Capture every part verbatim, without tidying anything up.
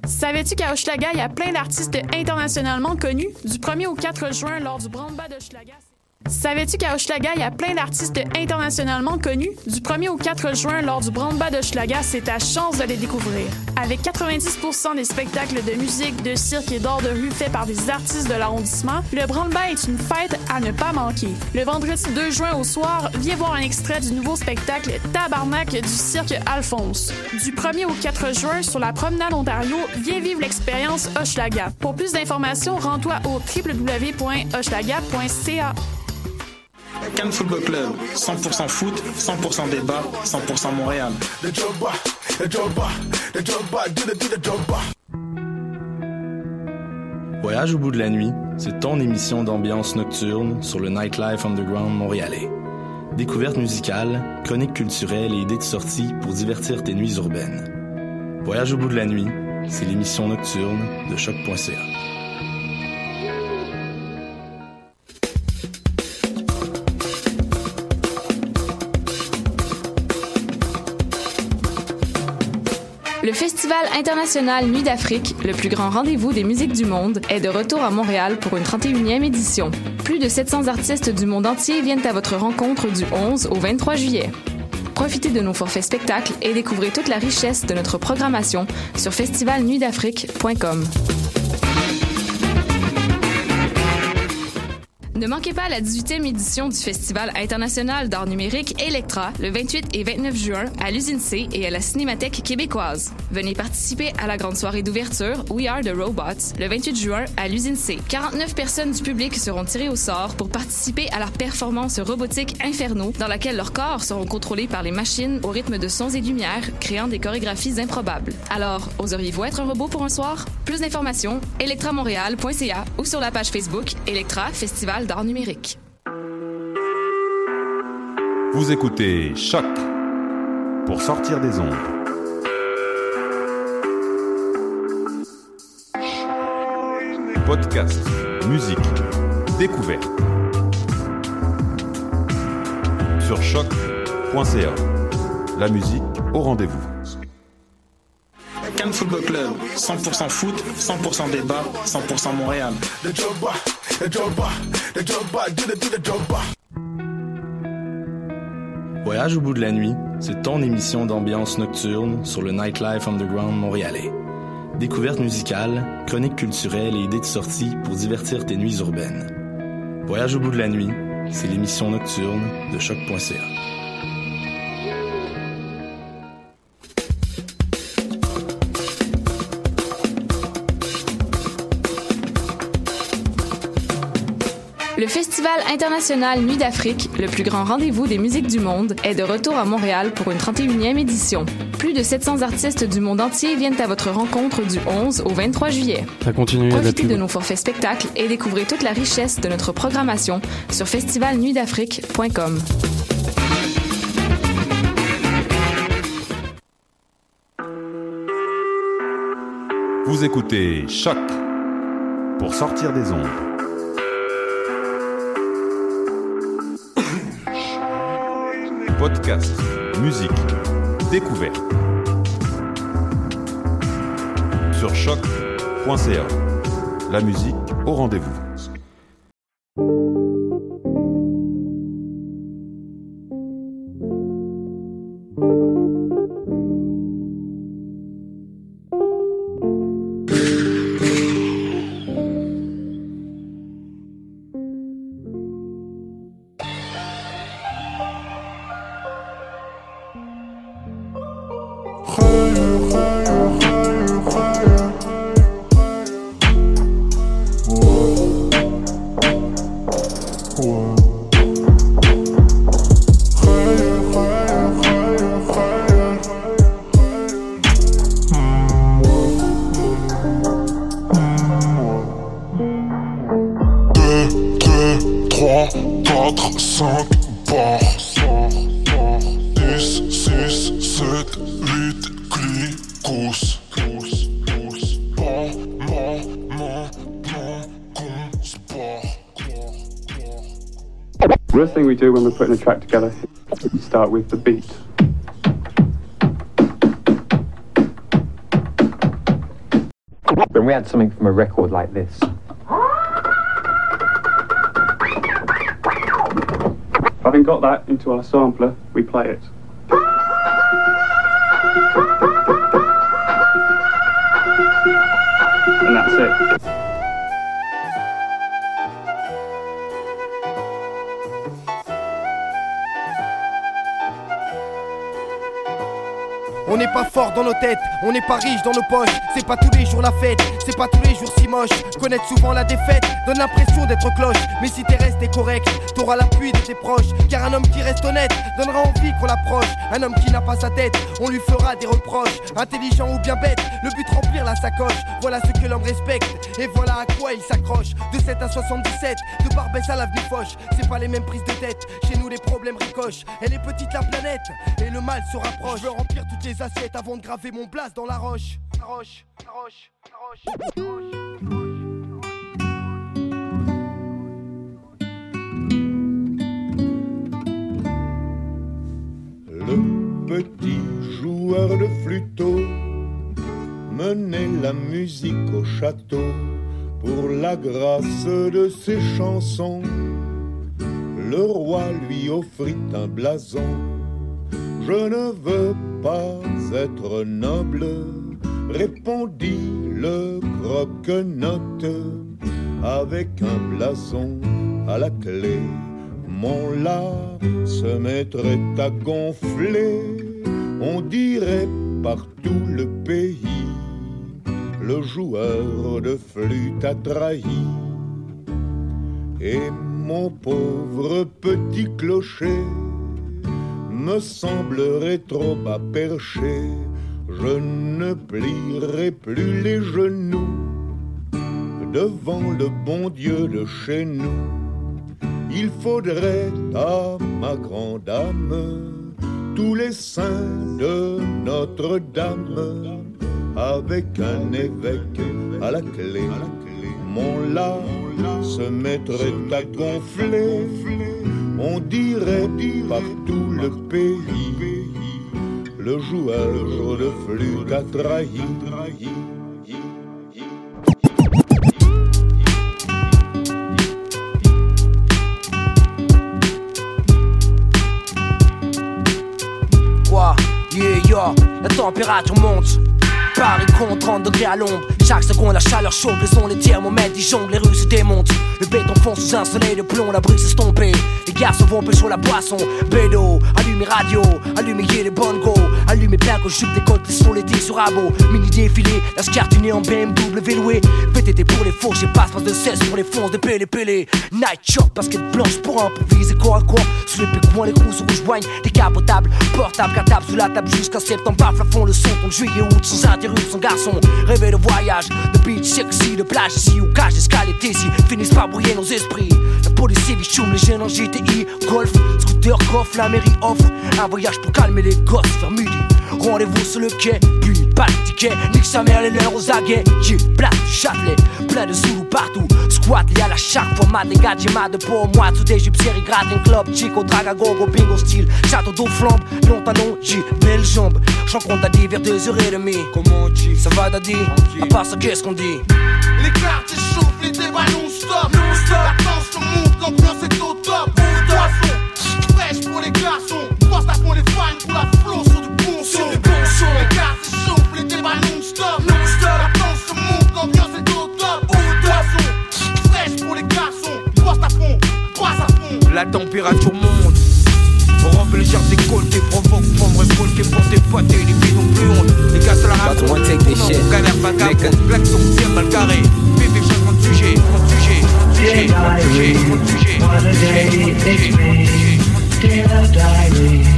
Savais-tu qu'à Hochelaga, il y a plein d'artistes internationalement connus? Du premier au quatre juin, lors du Brandba d'Hochelaga... Savais-tu qu'à Hochelaga, il y a plein d'artistes internationalement connus? Du premier au quatre juin, lors du Brandba d'Hochelaga, c'est ta chance de les découvrir. Avec quatre-vingt-dix pour cent des spectacles de musique, de cirque et d'art de rue faits par des artistes de l'arrondissement, le Brandba est une fête à ne pas manquer. Le vendredi deux juin au soir, viens voir un extrait du nouveau spectacle Tabarnak du cirque Alphonse. Du premier au quatre juin, sur la promenade Ontario, viens vivre l'expérience Hochelaga. Pour plus d'informations, rends-toi au w w w point hochelaga point c a. Cannes Football Club, cent pour cent foot, cent pour cent débat, cent pour cent Montréal. Voyage au bout de la nuit, c'est ton émission d'ambiance nocturne sur le Nightlife Underground montréalais. Découvertes musicales, chroniques culturelles et idées de sortie pour divertir tes nuits urbaines. Voyage au bout de la nuit, c'est l'émission nocturne de choc point c a. Le Festival international Nuit d'Afrique, le plus grand rendez-vous des musiques du monde, est de retour à Montréal pour une trente et unième édition. Plus de sept cents artistes du monde entier viennent à votre rencontre du onze au vingt-trois juillet. Profitez de nos forfaits spectacles et découvrez toute la richesse de notre programmation sur festival nuit d'afrique point com. Ne manquez pas la dix-huitième édition du Festival international d'art numérique Electra le vingt-huit et vingt-neuf juin à l'Usine C et à la Cinémathèque québécoise. Venez participer à la grande soirée d'ouverture We Are the Robots le vingt-huit juin à l'Usine C. quarante-neuf personnes du public seront tirées au sort pour participer à leur performance robotique Inferno dans laquelle leurs corps seront contrôlés par les machines au rythme de sons et lumières, créant des chorégraphies improbables. Alors, oseriez-vous être un robot pour un soir? Plus d'informations, electra montréal point c a ou sur la page Facebook Electra Festival d'art numérique. Vous écoutez Choc pour sortir des ondes. Podcast, musique, découverte. Sur choc point c a. La musique au rendez-vous. Cannes Football Club, cent pour cent foot, cent pour cent débat, cent pour cent Montréal. Voyage au bout de la nuit, c'est ton émission d'ambiance nocturne sur le Nightlife Underground montréalais. Découvertes musicales, chroniques culturelles et idées de sortie pour divertir tes nuits urbaines. Voyage au bout de la nuit, c'est l'émission nocturne de choc point c a. Le Festival international Nuit d'Afrique, le plus grand rendez-vous des musiques du monde, est de retour à Montréal pour une trente et unième édition. Plus de sept cents artistes du monde entier viennent à votre rencontre du onze au vingt-trois juillet. Ça continue. Profitez de nos forfaits spectacles et découvrez toute la richesse de notre programmation sur festival nuit d'afrique point com. Vous écoutez Choc pour sortir des ondes. Podcast, musique, découverte. Sur choc point c a. La musique au rendez-vous. First thing we do when we're putting a track together, we start with the beat. When we had something from a record like this. Having got that into our sampler, we play it. And that's it. On n'est pas fort dans nos têtes, on n'est pas riche dans nos poches. C'est pas tous les jours la fête, c'est pas tous les jours si moche. Connaître souvent la défaite donne l'impression d'être cloche. Mais si t'es resté correct, t'auras l'appui de tes proches. Car un homme qui reste honnête donnera envie qu'on l'approche. Un homme qui n'a pas sa tête, on lui fera des reproches. Intelligent ou bien bête, le but remplir la sacoche. Voilà ce que l'homme respecte, et voilà à quoi il s'accroche. De sept à soixante-dix-sept, de Barbès à l'avenue Foch. C'est pas les mêmes prises de tête, chez nous les problèmes ricochent. Elle est petite la planète, et le mal se rapproche. Je veux remplir toutes les assiettes avant de graver mon place dans la roche. La roche, la roche, la roche, la roche. Le petit joueur de flûteau menait la musique au château pour la grâce de ses chansons. Le roi lui offrit un blason. Je ne veux pas être noble, répondit le croque-note, avec un blason à la clé. Mon la se mettrait à gonfler, on dirait par tout le pays, le joueur de flûte a trahi. Et mon pauvre petit clocher me semblerait trop bas perché, je ne plierai plus les genoux devant le bon Dieu de chez nous. Il faudrait à ma grande âme tous les saints de Notre-Dame, avec un évêque à la clé. Mon la se mettrait à gonfler, on dirait par tout le pays, le joueur de flûte a trahi. Quoi? Yeah, yeah, la température monte. Paris compte trente degrés à l'ombre. Chaque seconde la chaleur chauffe, le son des thermomètres, ils jonglent, les rues se démontent. Le béton fond sous un soleil de plomb, la brise estompée. Les garçons vont pécho la boisson. Bédo, allumez radio, allumez les bongos. Allumez plein que jupe décolte sur l'été sur abo. Mini défilé, la scartunée en B M W loué. V T T pour les faux, j'ai passe, passe de cesse pour les fonces de pélé pélé. Night shop, basket blanche pour improviser corps à corps. Sous les pécoins, les grosses rouges joignent. Décapotables, portables, cartables sous la table jusqu'à septembre. Bafle à fond le son, ton juillet août sans interruption. Garçon, rêver de voyage, de beach sexy, de plage ici ou cage d'escale et ici. Finissent par brouiller nos esprits. La police bichoum, les jeunes en G T I, golf, scooter, coffre, la mairie offre un voyage pour calmer les gosses vers midi. Rendez-vous sur le quai, puis pas de ticket. Nique sa mère les leurs aux aguets. J'ai place du Châtelet, plein de Zoulous partout. Squat lié à la chaque format des gadgets, ma de pour moi. Sous des jupes série gratin club, chico, draga, gogo, bingo style. Château d'eau flambe, long talon, j'ai belle jambe. J'en compte à dix vers deux heures et demie. Comment tu ça va daddy? À part ça qu'est-ce qu'on dit? Les quartiers chauffent, les débats non-stop. Non-stop. La tension monte, l'ambiance est au top. Poisson, fraîche pour les garçons. Poste à fond les fans pour la flow sur du bon son. Les quartiers chauffent, les débats non-stop. Non-stop. La tension monte, l'ambiance est au top. Poisson, fraîche pour les garçons. Poste à fond, poisse à fond. La température monte. Pour embellir tes côtes, tes provoques, prendre révolter pour tes potes et les filles non plus honte. Les gars se la racontent, non, galère, vagabond, blague sont bien mal carrés. Bébé, change mon sujet, mon sujet, mon sujet, mon sujet, mon sujet, mon sujet, mon sujet.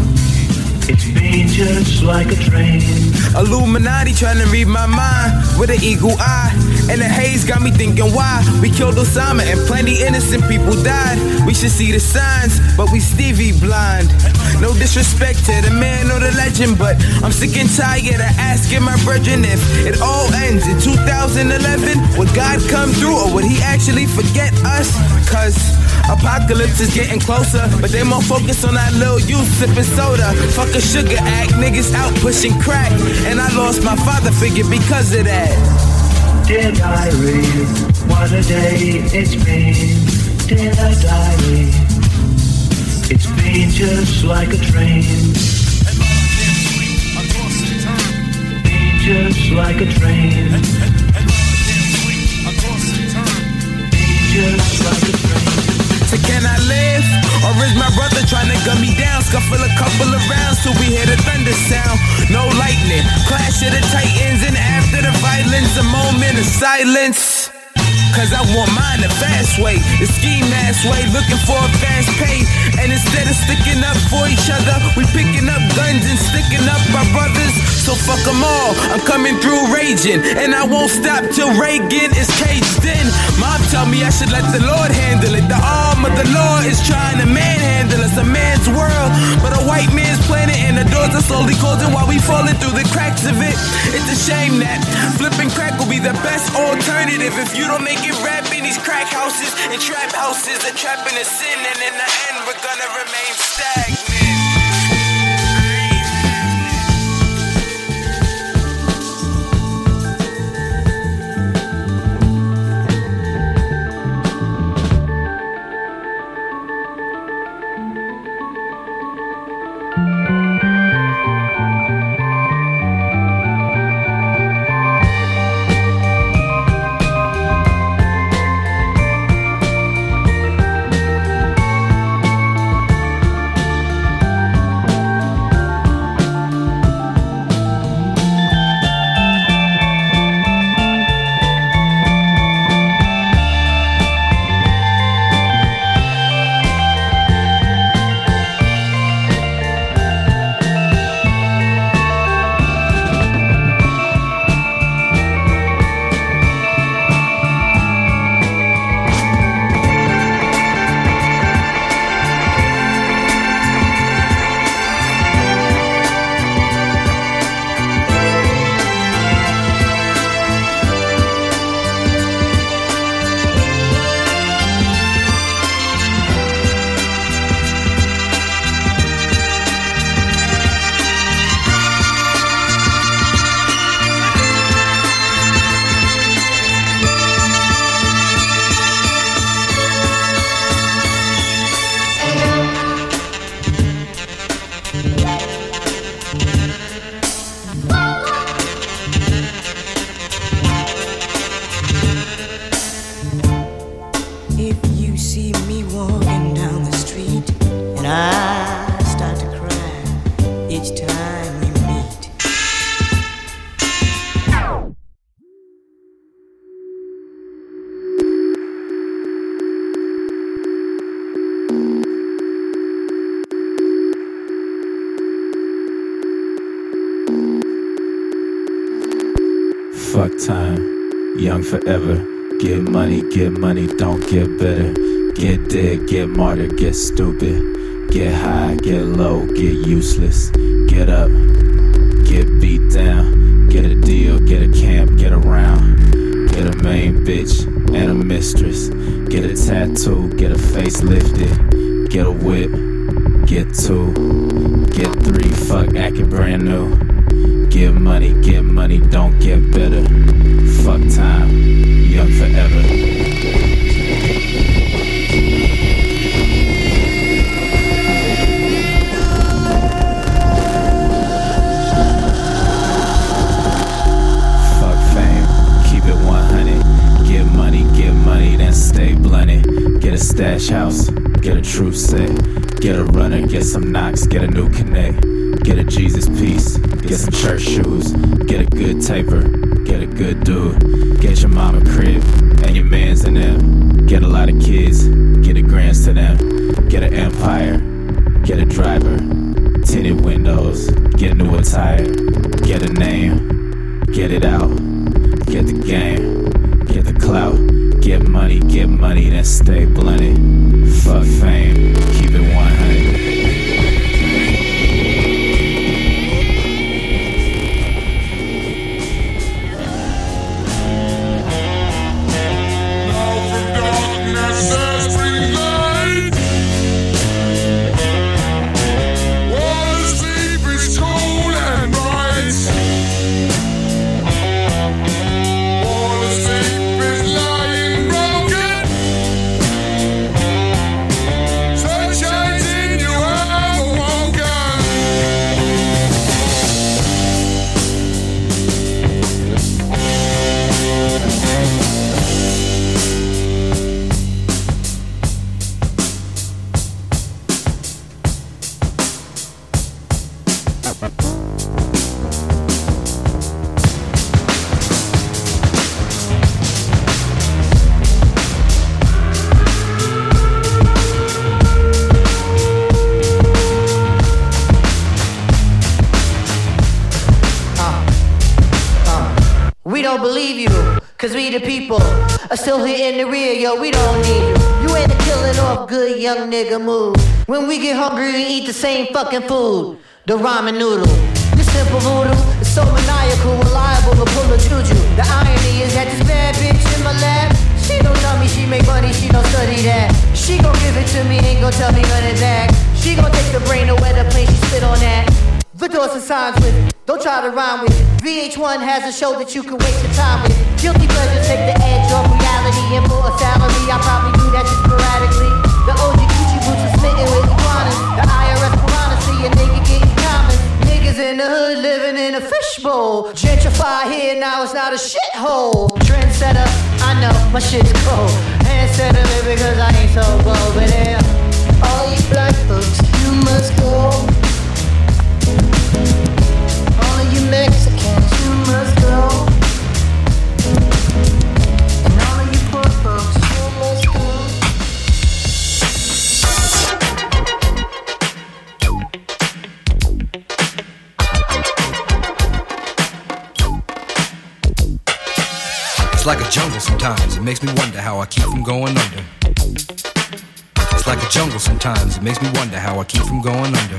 It's been just like a train. Illuminati trying to read my mind with an eagle eye. And the haze got me thinking why we killed Osama and plenty innocent people died. We should see the signs, but we Stevie blind. No disrespect to the man or the legend, but I'm sick and tired of asking my brethren if it all ends in two thousand eleven. Would God come through or would he actually forget us? Cause apocalypse is getting closer, but they more focused on that little youth sipping soda. Fuck a sugar act, niggas out pushing crack, and I lost my father figure because of that. Dear diary, what a day it's been. Dear diary, it's been just like a train. Been just like a train. Been just like a train. So can I live? Or is my brother trying to gun me down? Scuffle a couple of rounds till we hear the thunder sound. No lightning, clash of the titans. And after the violence, a moment of silence. Cause I want mine the fast way, the ski mask way, looking for a fast pay. And instead of sticking up for each other, we picking up guns and sticking up our brothers. So fuck them all, I'm coming through raging. And I won't stop till Reagan is caged in. Mom tell me I should let the Lord handle it. The arm of the Lord is trying to manhandle us, a man's world, but a white man's planet. And the doors are slowly closing while we falling through the cracks of it. It's a shame that flipping crack will be the best alternative if you don't make it rap in these crack houses and trap houses. The trapping is sin, and in the end we're gonna remain stagnant. Fuck time, young forever. Get money, get money, don't get better. Get dead, get martyred, get stupid. Get high, get low, get useless. Get up, get beat down. Get a deal, get a camp, get around. Get a main bitch and a mistress. Get a tattoo, get a face lifted. Get a whip, get two. Get three, fuck acting brand new. Get money, get money, don't get better. Fuck time, young forever. Fuck fame, keep it one hundred. Get money, get money, then stay blunted. Get a stash house, get a truth set. Get a runner, get some knocks, get a new connect. Get a Jesus piece, get some church shoes. Get a good taper, get a good dude. Get your mama crib and your mans in them. Get a lot of kids, get a grants to them. Get an empire, get a driver. Tinted windows, get new attire. Get a name, get it out. Get the game, get the clout. Get money, get money, then stay blunted. Fuck fame, keep it one hundred. All the We don't believe you, cause we the people are still here in the rear, yo, we don't need you. You ain't a killing off good young nigga move. When we get hungry, we eat the same fucking food, the ramen noodle. This simple voodoo is so maniacal, reliable to pull a juju. The irony is that this bad bitch in my lap, she don't tell me she make money, she don't study that. She gon' give it to me, ain't gon' tell me none of that. She gon' take the brain away the plane, she spit on that. The doors and signs with it, don't try to rhyme with it. V H one has a show that you can waste your time with. Guilty pleasure take the edge off reality. And for a salary, I probably do that just sporadically. The O G Gucci boots are smitten with iguanas. The I R S piranha see a nigga getting common. Niggas in the hood living in a fishbowl. Gentrify here, now it's not a shithole. Trendsetter, I know, my shit's cold. Handsetter, because I ain't so bold. But yeah, all you black folks, you must go. All of you Mexicans, you must go. And all of you poor folks, you must go. It's like a jungle sometimes, it makes me wonder how I keep from going under. It's like a jungle sometimes, it makes me wonder how I keep from going under.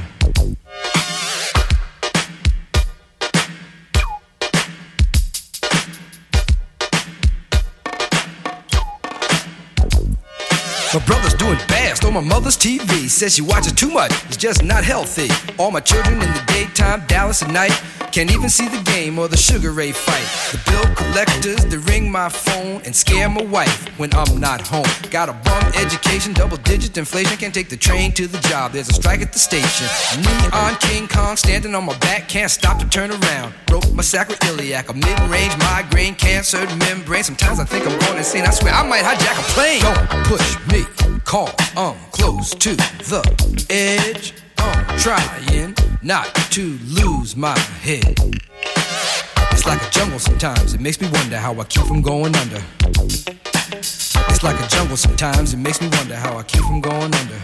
My brother's doing fast on my mother's T V. Says she watches too much, it's just not healthy. All my children in the daytime, Dallas at night. Can't even see the game or the Sugar Ray fight. The bill collectors, they ring my phone and scare my wife when I'm not home. Got a bum education, double digit inflation. Can't take the train to the job, there's a strike at the station. Neon King Kong standing on my back, can't stop to turn around. Broke my sacroiliac, a mid-range migraine, cancer membrane. Sometimes I think I'm going insane, I swear I might hijack a plane. Don't push me, call, I'm close to the edge. I'm trying not to lose my head. It's like a jungle sometimes, it makes me wonder how I keep from going under. It's like a jungle sometimes, it makes me wonder how I keep from going under.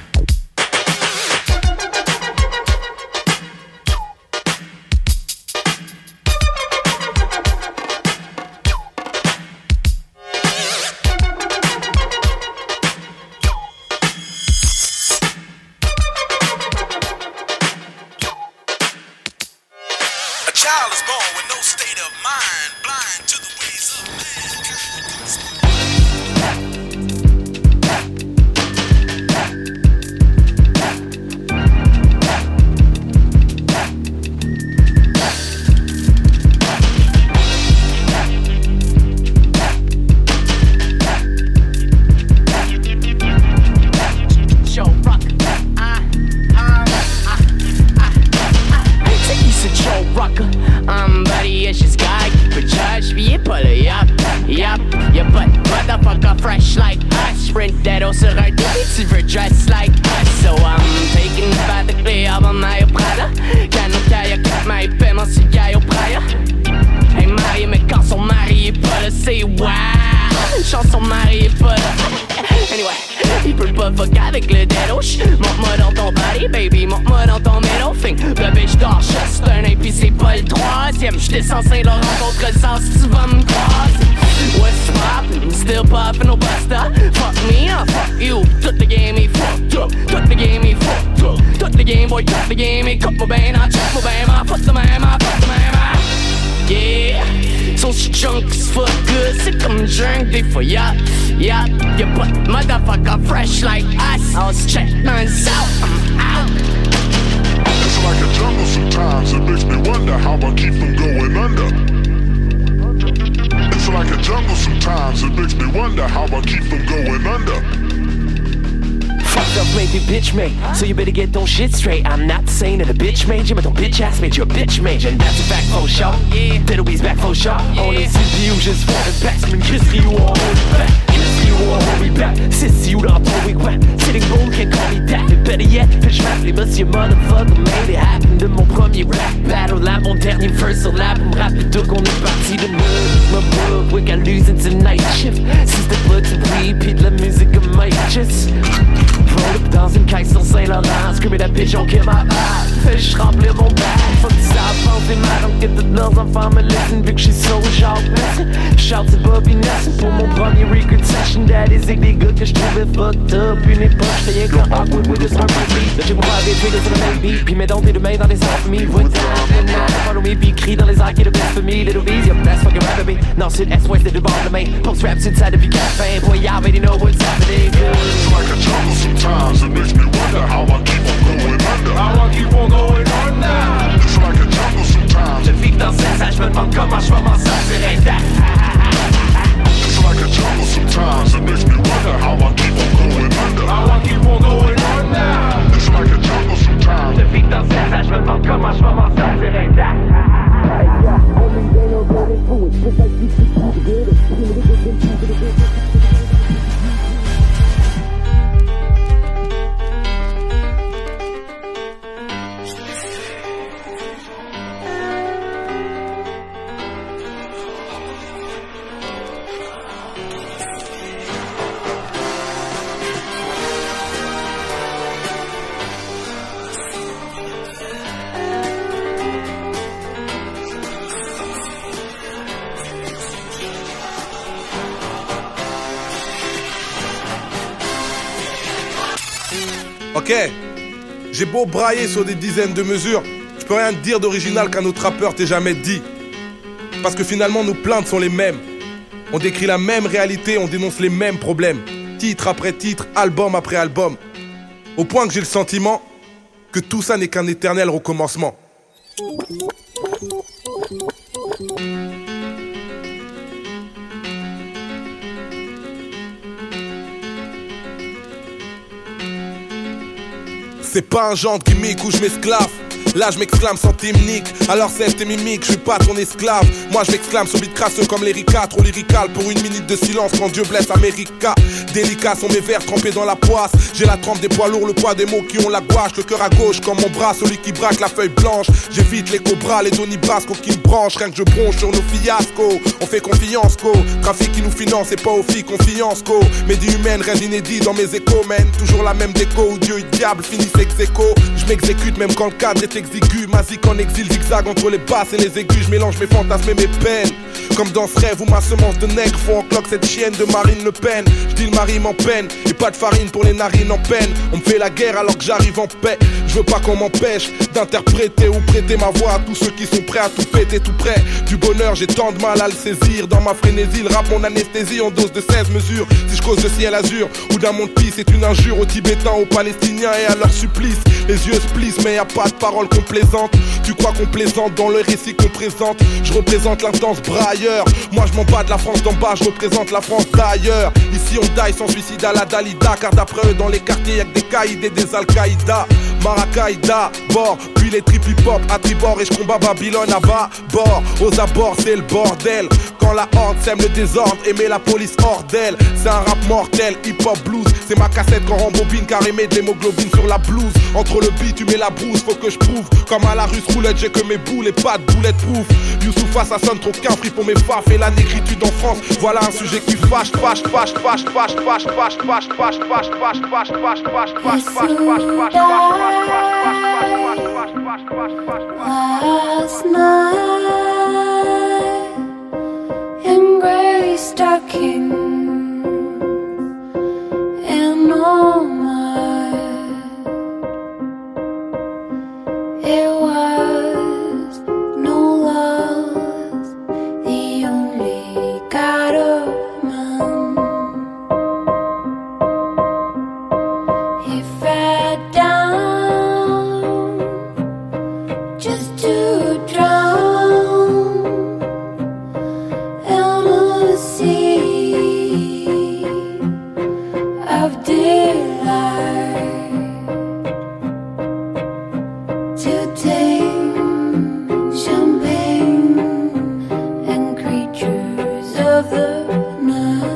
J'étais censé le rencontrer le sens si tu vas me croiser. What's poppin'? Still poppin' au basta. Fuck me up, fuck you. Toute the game est fucked up. Toute the game est fucked up. Toute the game boy, toute the game est coupe-moi ben, ah check moi ben, ah fuck de même, ah fuck de même, ah. Yeah, so she drunk as fuck good. C'est comme drink des fois, yeah, yeah. You put motherfucker fresh like ice. I'll check mines out, I'm out. It's like a jungle sometimes, it makes me wonder how I keep from going under. It's like a jungle sometimes, it makes me wonder how I keep from going under. Fucked up made me bitch made, so you better get ton shit straight. I'm not saying that a bitch made you, but ton bitch ass made you a bitch made you. And that's a fact for sure, yeah. Little B's back for sure, yeah. On est C P U juste pour le backsman, Chris you all hold it back. You won't hold me back, sissy you dans ton wigwam. Sitting bull can't call me that, but better yet, fish rap les monsieur motherfucker made it happen. De mon premier rap battle, là mon dernier verse sur l'album rap. Plutôt qu'on est parti de neuf, ma bub, we got losing tonight shift. Si c'était pas du bruit, pis de la musique comme Mike Just roll up dans une caisse sur Saint-Laurent, screamer that bitch on kill my vibe. Fais je remplir mon bag, faut que ça avance des mal, donc que toutes leurs enfants me laissent vu que j'suis so genre. Shout to Bobby Nelson pour mon premier record session. Daddy Zig, des gars que je trouvais fucked up. Une époque, j'étais rien qu'un awkward with this hard beat. Là j'ai mon private Twitter sur le même beat. Puis mets donc tes deux mains dans les airs for me. Voix follow me, puis crie dans les airs qui est le best for me. Little B's, y'a best fucking rap me. Non, c'est l'Est-Ouest, c'est deux bords de main. Post rap sur le side depuis café. Boy, y'all already know what's happening. It's like a jungle sometimes. It makes me wonder how I keep on going under. How I keep on going under. It's like a jungle sometimes. Je vis dans cette salle, je me demande comment je vais m'en sortir intact. It's like a jungle sometimes. It makes me wonder how I keep on going under. How I keep on going under. It's like a jungle sometimes. Je vis dans cette salle, je me demande comment je vais m'en sortir intact. Ok, j'ai beau brailler sur des dizaines de mesures, je peux rien te dire d'original qu'un autre rappeur t'ait jamais dit. Parce que finalement nos plaintes sont les mêmes. On décrit la même réalité, on dénonce les mêmes problèmes. Titre après titre, album après album. Au point que j'ai le sentiment que tout ça n'est qu'un éternel recommencement. C'est pas un genre de gimmick où je m'esclave. Là je m'exclame sans technique. Alors c'est tes mimiques, je suis pas ton esclave. Moi je m'exclame sur beat crasseux comme l'Erika. Trop lyrical pour une minute de silence quand Dieu blesse America. Délicats sont mes vers trempés dans la poisse. J'ai la trempe des poids lourds, le poids des mots qui ont la gouache. Le cœur à gauche comme mon bras, celui qui braque la feuille blanche. J'évite les cobras, les Donny Brasco qui me branchent. Rien que je bronche sur nos fiascos. On fait confiance co. Trafic qui nous finance et pas aux filles confiance co. Médie humaine, rien d'inédit dans mes échos man. Toujours la même déco où Dieu et diable finissent ex aequo. Je m'exécute même quand le cadre est exigu. Mazik en exil, zigzag entre les basses et les aigus. Je mélange mes fantasmes et mes peines. Comme dans ce rêve où ma semence de nègre font en cloque cette chienne de Marine Le Pen. Je dis le mari m'en peine et pas de farine pour les narines en peine. On me fait la guerre alors que j'arrive en paix. Je veux pas qu'on m'empêche d'interpréter ou prêter ma voix à tous ceux qui sont prêts à tout péter tout près du bonheur. J'ai tant de mal à le saisir. Dans ma frénésie, le rap mon anesthésie en dose de seize mesures. Si je cause de ciel azur ou d'un monde pis, c'est une injure aux Tibétains, aux Palestiniens et à leur supplice. Les yeux se plissent mais y a pas de parole complaisante. Tu crois qu'on plaisante dans le récit qu'on présente. Je représente l'intense brailleur. Moi je m'en bats de la France d'en bas, je représente la France d'ailleurs. Ici on die sans suicide à la Dalida. Car d'après eux dans les quartiers y'a que des caïds et des Al-Qaïda. Marakaïda, bord, puis les trip hip-hop à tribord. Et je combat Babylone à bas, bord. Aux abords c'est le bordel. Quand la horde sème le désordre et met la police hors d'elle. C'est un rap mortel, hip-hop blues. C'est ma cassette quand rembobine car émet de l'hémoglobine sur la blouse. Entre le beat tu mets la brousse, faut que je prouve. Comme à la russe roulette j'ai que mes boules et pas de bulletproof. Youssoufa ça sonne trop qu'un free pour mes faf. Et la négritude en France, voilà un sujet qui fâche, fâche, fâche, fâche, fâche, fâche, fâche, fâche, fâche, fâche, fâche, fâche, fâche, fâche, fâche, fâche, fâche, fâche, Last night in gray stockings and all mine, it was no loss, the only God of man. He fell down just to drown in a sea of delight, to tame champagne and creatures of the night.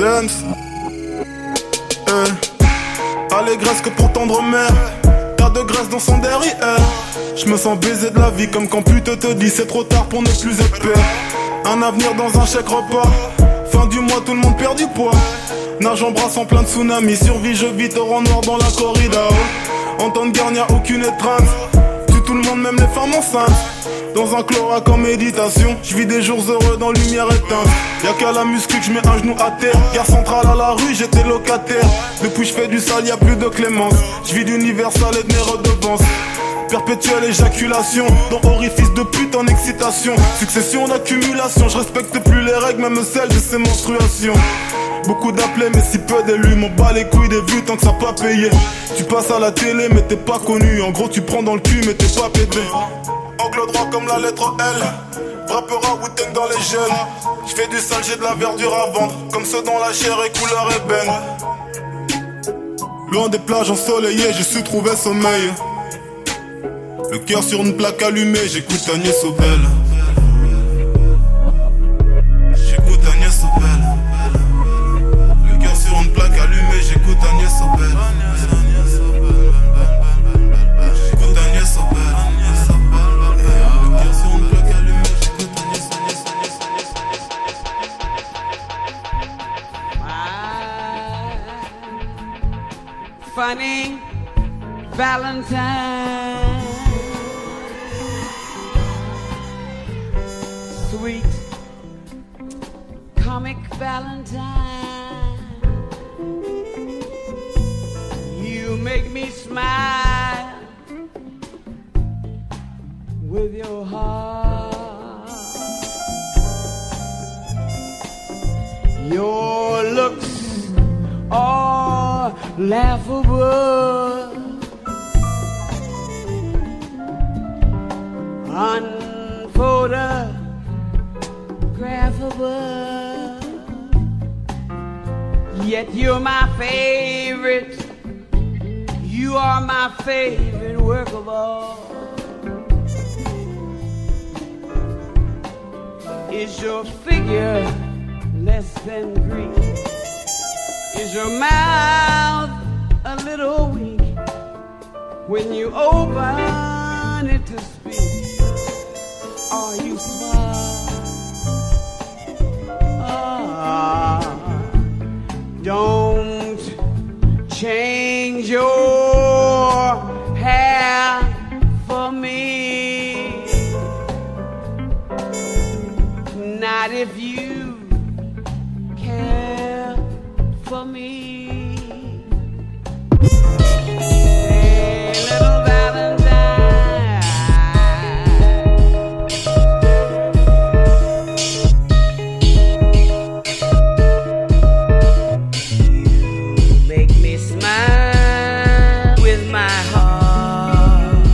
dance. Eh, allégresse que pour tendre mère. T'as de graisse dans son derrière. Je me sens baisé de la vie comme quand pute te dit c'est trop tard pour ne plus être père. Un avenir dans un chèque repas. Fin du mois tout le monde perd du poids. Nage en brasse en plein de tsunami. Survie je vis torrent noir dans la corrida. En temps de guerre y'a aucune étreinte. Tue tout le monde même les femmes enceintes. Dans un clorac en méditation. Je vis des jours heureux dans lumière éteinte. Y'a qu'à la muscu que je mets un genou à terre. Gare centrale à la rue j'étais locataire. Depuis je fais du sale y'a plus de clémence. Je vis d'universal et de mes redevances. Perpétuelle éjaculation, dans orifice de pute en excitation. Succession d'accumulation, je respecte plus les règles, même celles de ces menstruations. Beaucoup d'appelés mais si peu d'élus, m'en bats les couilles des vues tant que ça pas payé. Tu passes à la télé mais t'es pas connu, en gros tu prends dans le cul mais t'es pas pété. Angle droit comme la lettre L, rappera Wu-Tang dans les gènes. J'fais du sale, j'ai de la verdure à vendre, comme ceux dont la chair est couleur ébène. Loin des plages ensoleillées, j'ai su trouver sommeil. Le cœur sur une plaque allumée, j'écoute Agnès Obel. J'écoute Agnès Obel. Le cœur sur une plaque allumée, j'écoute Agnès Obel. J'écoute Agnès Obel. Le cœur sur une plaque allumée, j'écoute Agnès Obel. Funny Valentine. Sweet comic Valentine, you make me smile with your heart. Your looks are laughable, unphotographable. Yet you're my favorite. You are my favorite work of art. Is your figure less than Greek? Is your mouth a little weak when you open it to speak? Are you smart? Ah, don't change your hair for me. Not if you care for me. Hey, little Valentine, you make me smile with my heart.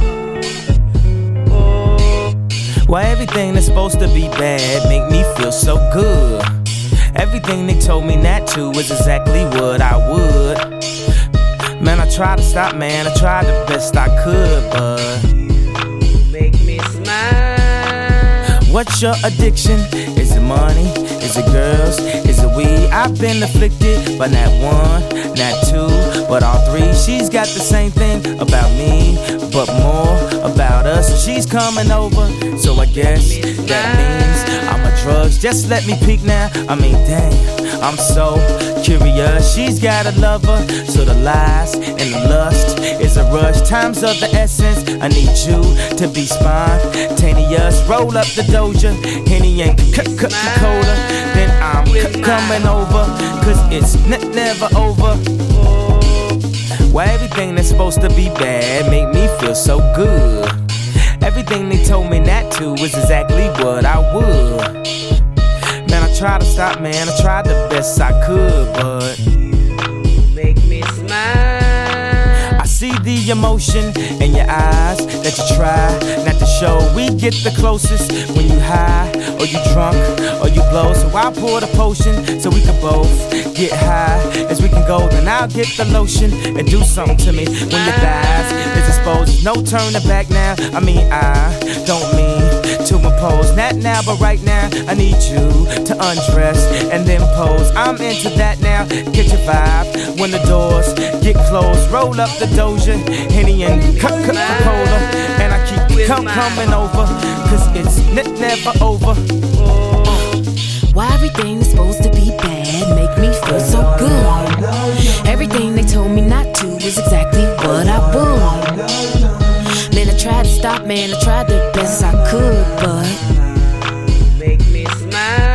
Oh. Why everything that's supposed to be bad make me feel so good? Everything they told me not to was exactly what I would. Man, I tried to stop, man, I tried the best I could, but you make me smile. What's your addiction? Is it money? Is it girls? Is it weed? I've been afflicted by not one, not two, but all three. She's got the same thing about me, but more about us. She's coming over, so I guess that means I'm a drugs. Just let me peek now. I mean, dang, I'm so curious. She's got a lover, so the lies and the lust is a rush. Time's of the essence. I need you to be spontaneous. Roll up the Doja, Henny and Coca-Cola. Then I'm c- coming over, cause it's n- never over. Why everything that's supposed to be bad make me feel so good? Everything they told me not to was exactly what I would. Man, I tried to stop, man, I tried the best I could, but you make me smile. I see the emotion in your eyes that you try not to show. We get the closest when you high, or you drunk, or you blow. So I pour the potion so we can both get high as we can go. Then I'll get the lotion and do something to me when your thighs is exposed. No turning back now. I mean, I don't mean to impose. Now that now, but right now I need you to undress and then pose. I'm into that now, get your vibe. When the doors get closed, roll up the Doja, Henny and Coca-Cola, and I keep the com coming over, cause it's n never over. Uh, why everything's supposed to be bad make me feel so good? Everything they told me not to is exactly what I would. Man, I tried to stop, man, I tried the best I could, but make me smile.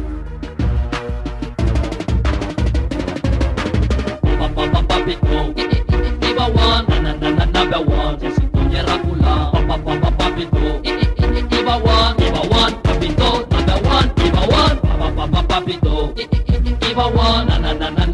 Pop, pop, pop, pop it, whoa.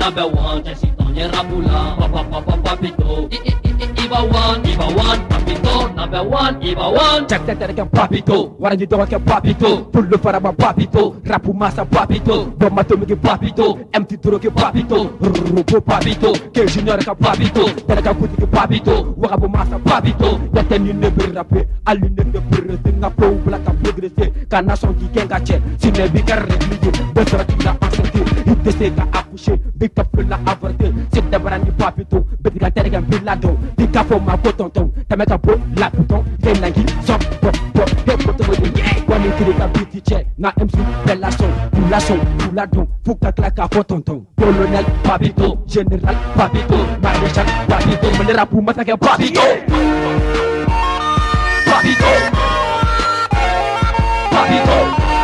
number one. Jesitonya Rapula, papa papa papito. Iba one, Iba one, papito. Number one, Iba one. Check that again, papito. What are you doing, papito? Pull the fire, papito. Rapu massa, papito. Bomato, make papito. Empty duro, papito. Rupo, papito. Que junior, papito. Teraka kuti, papito. Wakabu massa, papito. Yaten you never rappe. Aline de purre, tinga po, black and progressé. Kana son qui kenga che. Sine bika réglé. Besra qui l'a encerclé. Il décède à accoucher. Big up la avorté. C'est d'abord un papito. Bédiga terega bilado. Big up for ma potonton. Tameka po, la puton. Yenagi, som, pop, pop. Hey, poto, yeah. When you kill a beauty check. Na M C, bella son. Pula son, pula don. Fouka klaka potonton. Colonel, papito. Général, papito. Maréchal, papito. Me le rapou, massacre, papito. Papito. Papito.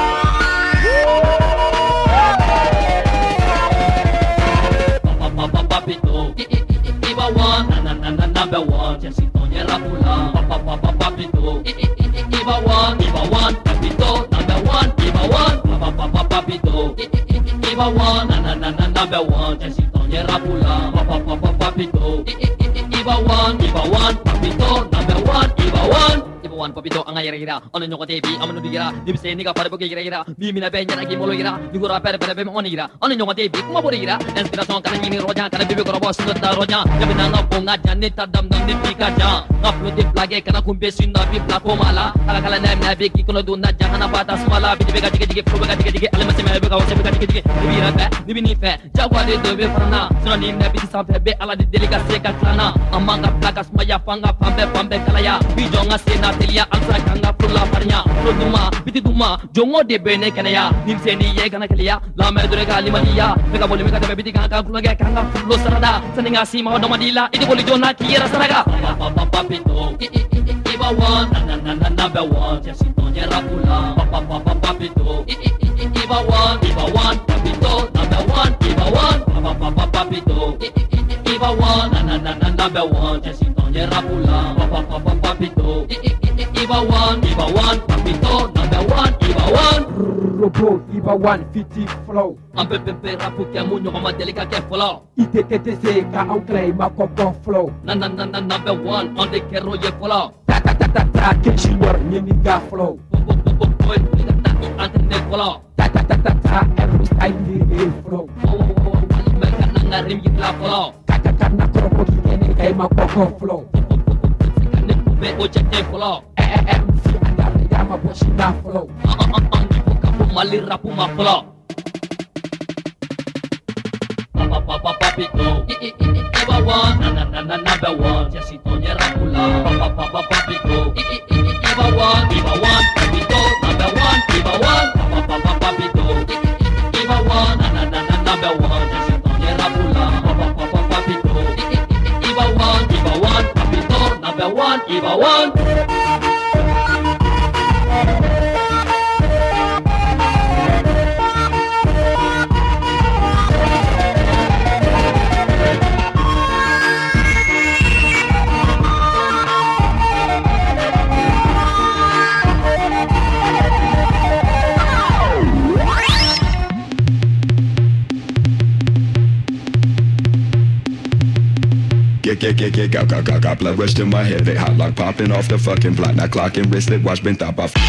Papa papito. Iba one, na na na number one. Jesitonya Rapula, papa papa papito. Iba one, Iba one, papito. Number one, Iba one, papa papa papito. Iba one, na na na number one. Jesitonya Rapula, papa papa papito. Iba one, Iba one, papito. Number one, Iba one. One papito ang ayira ano nyo ko T V amano bigira dibse ni ka para bugi gira mi mina benya na gimolo gira digura per per be mo gira ano nyo ko T V kuma bori gira inspiration kana ni roja kana bibi ko boss no ta roja yabina na ponga janne ta dam dam ni pika ja upload di plage kana kumbe sinda bi platform ala kala kala na na be ki kono duna jahana bata smala bi be ga dige dige pro ga dige dige alma se me be ga se be ga dige dige bi ra be bi ni fe jagwa de de be farna sono ni na bi sa fe be ala de deliga se ka klana amanga plakas maya fanga pambe pambe kala ya bi jonga se na ya alsa kanga pulla parnya roduma biti duma jongo de bene kanaya nimseni ye kana kaliya la mer dure gali maliya mega boli mega de biti kanga kula ga kanga fullo sarada saninga sima do madila idi boli jona kira saraga papa papito Iba one na na na number one Jesitonya Rapula papa papa papito Iba one Iba one papito number one Iba one papa papa papito Iba one na na na number one Jesitonya Rapula papa papa papito Iba one, Iba one, papito, number one, Iba one. Robo, Iba one, fifty flow. Ampe pepe rapu kia munyo kama delika kia flow. Ite tete se ka anklay ma koko flow. Na na na na number one, on the kero ye flow. Ta ta ta ta ta, ke junior nyemi ga flow. Bo bo bo bo boy, ita ta i antene flow. Ta ta ta ta ta, every style ni flow. Oh oh oh, wali meka na ngarim yitla flow. Ta ta ta na kropo kene kay ma koko flow. Kane kube o chete flow. M C andare yama boshi na flow. Mali rapu ma flow. Papa papa papito. Iba one na na na na number one. Jesitonya Rapula. Papa papa papito. Iba one Iba one papito number one. Iba one papa papa papito. Iba one na na na na number one. Jesitonya Rapula. Papa papa papito. Iba one Iba one papito number one. Iba one. Get, get, get, get, got, got, got, got blood rush to my head. They hot lock popping off the fucking block. Now clocking wristlet, watch been top off.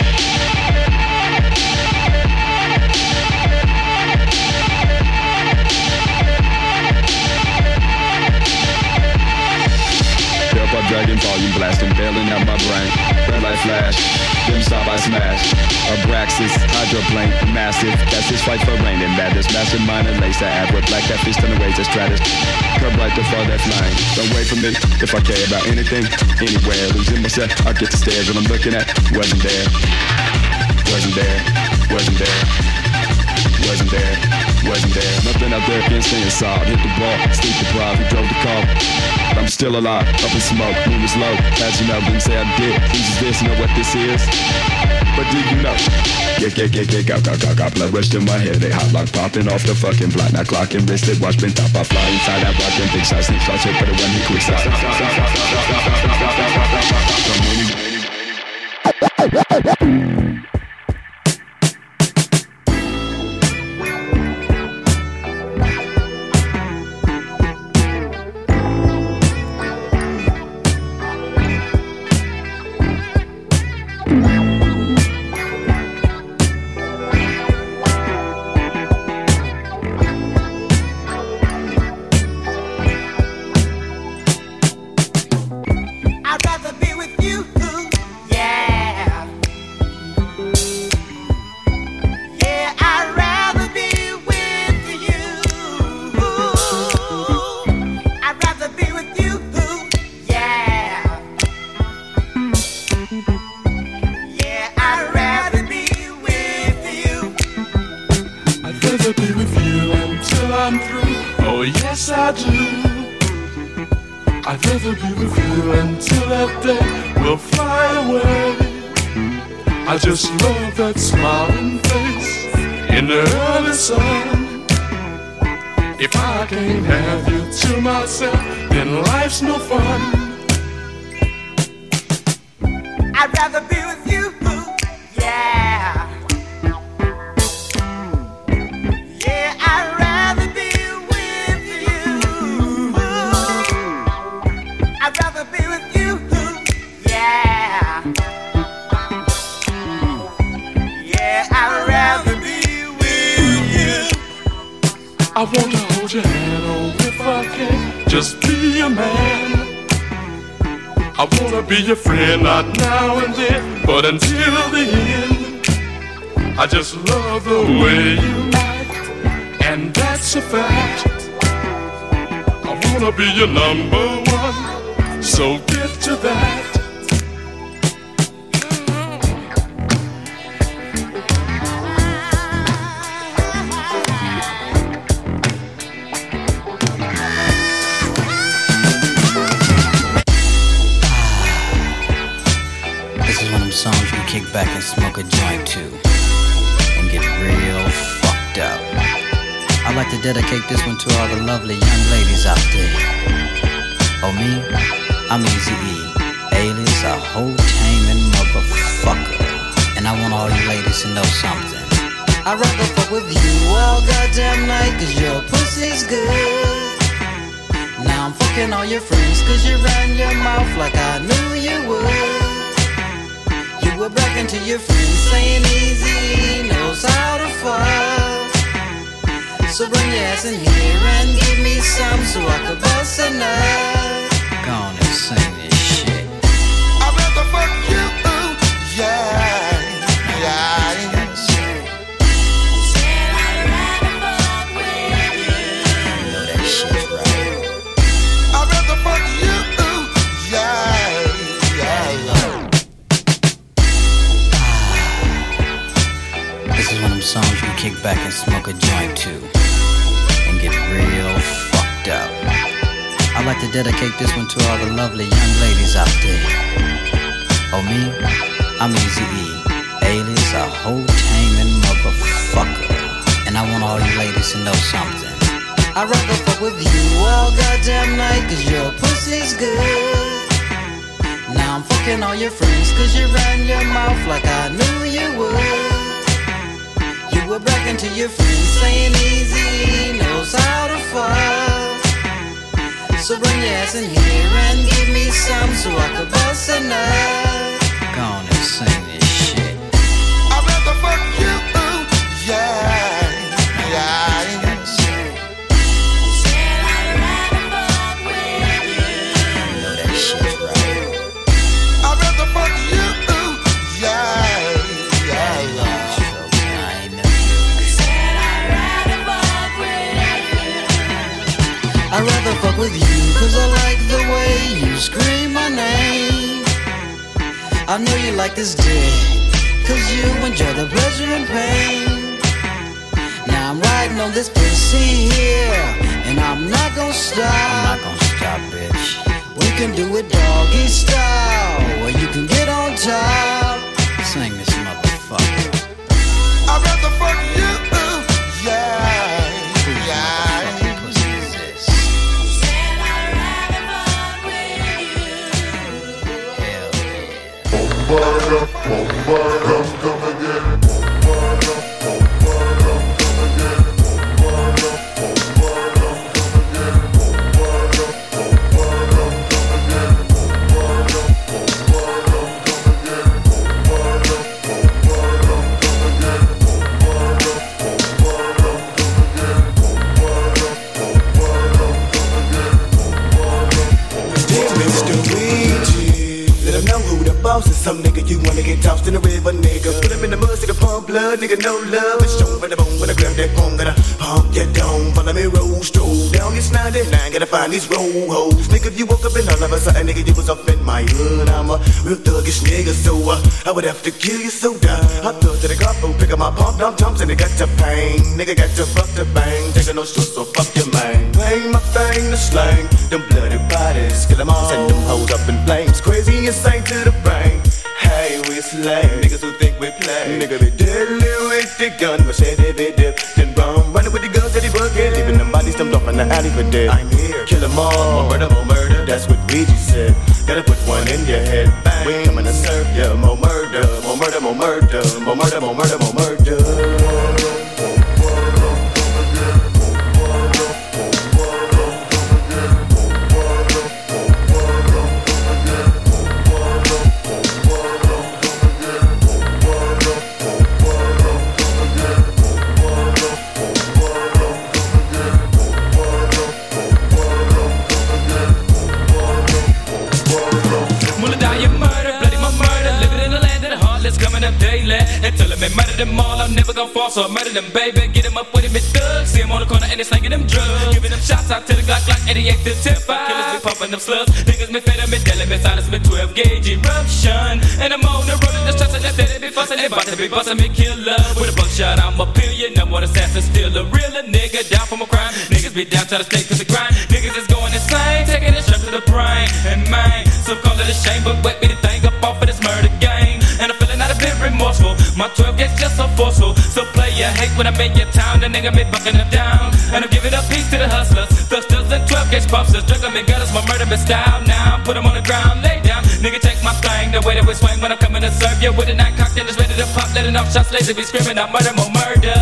Tailpipe dragon volume blasting, bailing out my brain. Red light flash, them stop I smash. Abraxas, hydroplane, massive. That's his fight for rain and madness. Mastermind and lace that ab with black catfish turn away to stratus. Curb right before that flying. Don't wait for me if I care about anything, anywhere. Losing myself, I get the stares when I'm looking at. Wasn't there, wasn't there, wasn't there, wasn't there, wasn't there. Nothing out there can stay inside. Hit the ball, sleep deprived, who drove the car. I'm still alive, up in smoke, moon is low. As you know, didn't say I did. Please is this, know what this is? But do you know? Get, get, get, get, got, got, got, got blood rush to my head. They hot lock popping off the fucking block. Now clocking wristed, watch been top. I fly inside that rock and big shots, sneak shots, hit for the one he quick shot. I'd rather be with you until that day will fly away. I just love that smiling face in the early sun. If I can't have you to myself, then life's no fun. I'd rather be with you, yeah. Yeah, I'd rather be with you. I'd rather be with you, yeah. Yeah, I'd rather be with you. I wanna hold your hand, oh, if I can just be a man. I wanna be your friend, not now and then, but until the end. I just love the way you act, and that's a fact. I wanna be your number one, so get to that. Songs you can kick back and smoke a joint to and get real fucked up. I'd like to dedicate this one to all the lovely young ladies out there. Oh me, I'm Eazy-E, alias a whole taming motherfucker. And I want all you ladies to know something. I'd rather fuck with you all goddamn night, cause your pussy's good. Now I'm fucking all your friends, cause you ran your mouth like I knew you would. You were bragging to your friends, saying Eazy knows how to fuck. So bring your ass in here and give me some so I could bust a nut. Go on and sing this shit. I'd rather fuck you, yeah, yeah. You gotta sing. Said I'd rather fuck with you. You know that shit's right. I'd rather fuck you, yeah, yeah. This is one of them songs you can kick back and smoke a joint to and get real fucked up. I'd like to dedicate this one to all the lovely young ladies out there. Oh me, I'm Eazy-E, alias a whole taming motherfucker. And I want all you ladies to know something. I'd rather fuck with you all goddamn night, cause your pussy's good. Now I'm fucking all your friends, cause you ran your mouth like I knew you would. You were bragging to your friends, saying Eazy knows how to fuck. So bring your ass in here and give me some so I could bust a nut. Go on and sing this shit. I'd rather fuck you, yeah, yeah. You gotta sing. Said I'd rather fuck with you. You know that shit's right. I'd rather fuck you, yeah, yeah, yeah. I'd rather fuck with you, cause I like the way you scream my name. I know you like this dick, cause you enjoy the pleasure and pain. Now I'm riding on this pussy here, and I'm not gonna stop. I'm not gonna stop, bitch. We can do it doggy style, where you can get on top. Sing this motherfucker. I'd rather fuck you, yeah, yeah. Bombarda, bombarda, come again. Bombarda, bombarda, come again. Bombarda, bombarda, come again. Bombarda, bombarda, come again. Bombarda, bombarda, come again. Bombarda, bombarda, come again. Bombarda, bombarda, come again. Bombarda, bombarda, come again. Dear Mister Ouija, let him know who the boss is. Some nigga you wanna get tossed in the river, nigga. Put him in the mud, see the pump blood, nigga. No love, it's shown for the bone. When I grab that bone, gotta pump your dome. Follow me, roll, stroll down this ninety-nine. Gotta find these roll hoes. Nigga, if you woke up and all of a sudden, nigga, you was up in my hood. I'm a real thuggish nigga, so uh, I would have to kill you so dumb. I thug to the garbo, pick up my pump, dump, dumps, and it got to pain. Nigga got to fuck the bang. Taking no shit, so fuck your man. Bang my thing to slang, them bloody bodies. flames, kill them all, send them hoes up in flames. Crazy insane to the brain. Hey, we slay niggas who think we play. Nigga be deadly with the gun, but say they be dip, then run, running with the guns that he bucket, leaving them bodies dumped off in the alley for dead. I'm here, kill them all, more murder, more murder. That's what Ouija said. Gotta put one in your head. Bang, we coming to serve ya. More murder, more murder, more murder, more murder, more murder, more murder. Until I murder them all, I'm never gonna fall, so I murder them, baby. Get them up with him, it's thugs. See him on the corner and they slanging them drugs. Giving them shots out to the Glock like eighty-eight to ten five. Killers be pumping them slugs. Niggas me fed up, me dealing, me silence, me twelve gauge eruption. And I'm on the road and just trusting that they be fussing. They about to be busting me killer. With a buckshot, I'm a billion. Number one assassin, still a realer nigga. Down from a crime. Niggas be down to the state to the grind. Niggas is going insane, taking it straight to the brain. And mine, some call it a shame, but wet me the thing up off of this murder game. And I'm feeling not a bit remorseful. My twelve gets just so forceful. So play your hate when I'm in your town. The nigga be bucking them down. And I'm giving up peace to the hustlers. Thusters and twelve gauge busters. Juggling me gutters, my murder be style. Now put them on the ground, lay down. Nigga take my thing. The way that we swing when I'm coming to serve you. With a nine cocked and just ready to pop. Letting off shots, lazy be screaming out murder, more murder.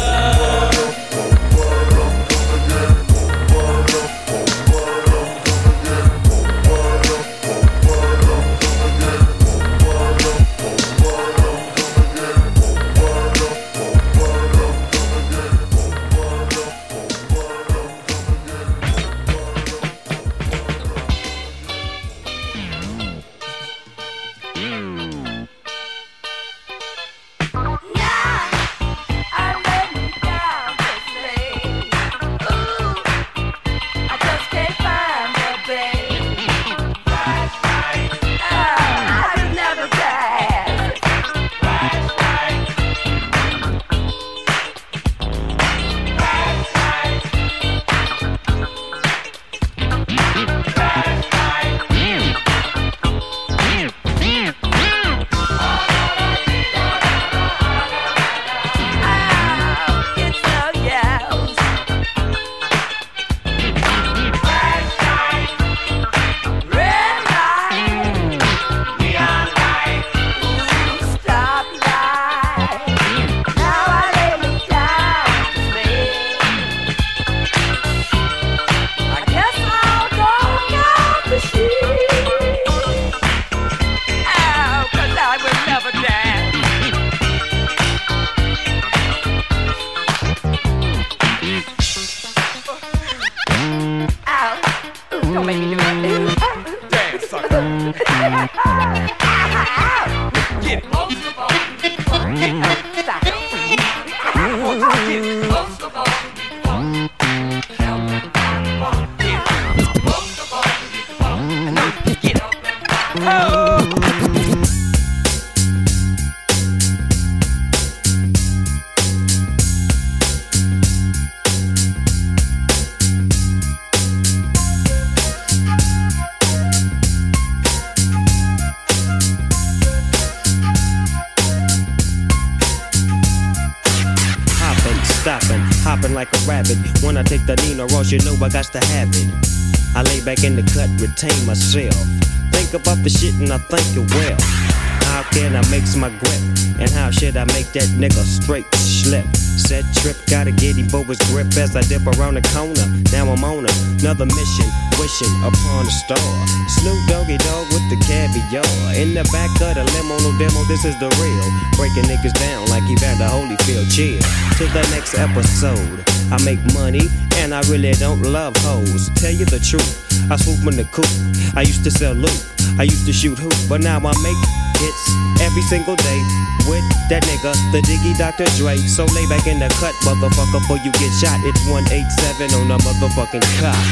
When I take the Nina Ross, you know I got to have it. I lay back in the cut, retain myself. Think about the shit and I think it well. How can I make my grip? And how should I make that nigga straight slip? Set trip, gotta get him for his grip as I dip around the corner. Now I'm on another mission, wishing upon a star. Snoop Doggy Dogg with the caviar. In the back of the limo, no demo, this is the real. Breaking niggas down like Evander Holyfield. Cheers to the next episode. I make money and I really don't love hoes. Tell you the truth, I swoop in the coop. I used to sell loot, I used to shoot hoop, but now I make hits every single day with that nigga, the Diggy Doctor Dre. So lay back in the cut, motherfucker, before you get shot. It's one eighty-seven on the motherfucking cop.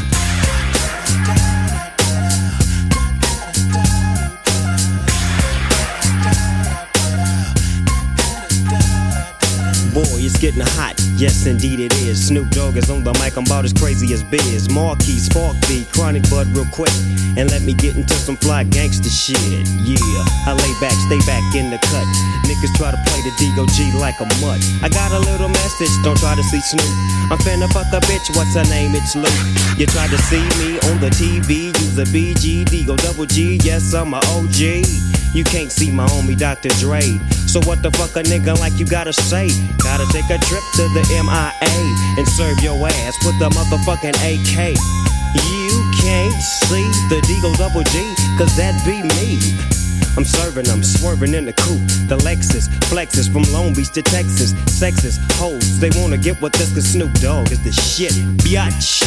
Boy, it's getting hot, Yes, indeed it is. Snoop Dogg is on the mic, I'm about as crazy as Biz. Marquis, Spark B, Chronic Bud real quick. And let me get into some fly gangster shit. Yeah, I lay back, stay back in the cut. Niggas try to play the D O G like a mutt. I got a little message, don't try to see Snoop. I'm finna fuck a bitch, what's her name? It's Luke. You tried to see me on the T V, use a B G, D go double G, yes, I'm a O G. You can't see my homie Doctor Dre. So what the fuck a nigga like you gotta say? Gotta take a trip to the M I A and serve your ass with the motherfucking A K. You can't see the D-Go double G, cause that be me. I'm serving them, swerving in the coupe. The Lexus, flexes from Long Beach to Texas. Sexist hoes, they wanna get with this cause Snoop Dogg is the shit, biatch.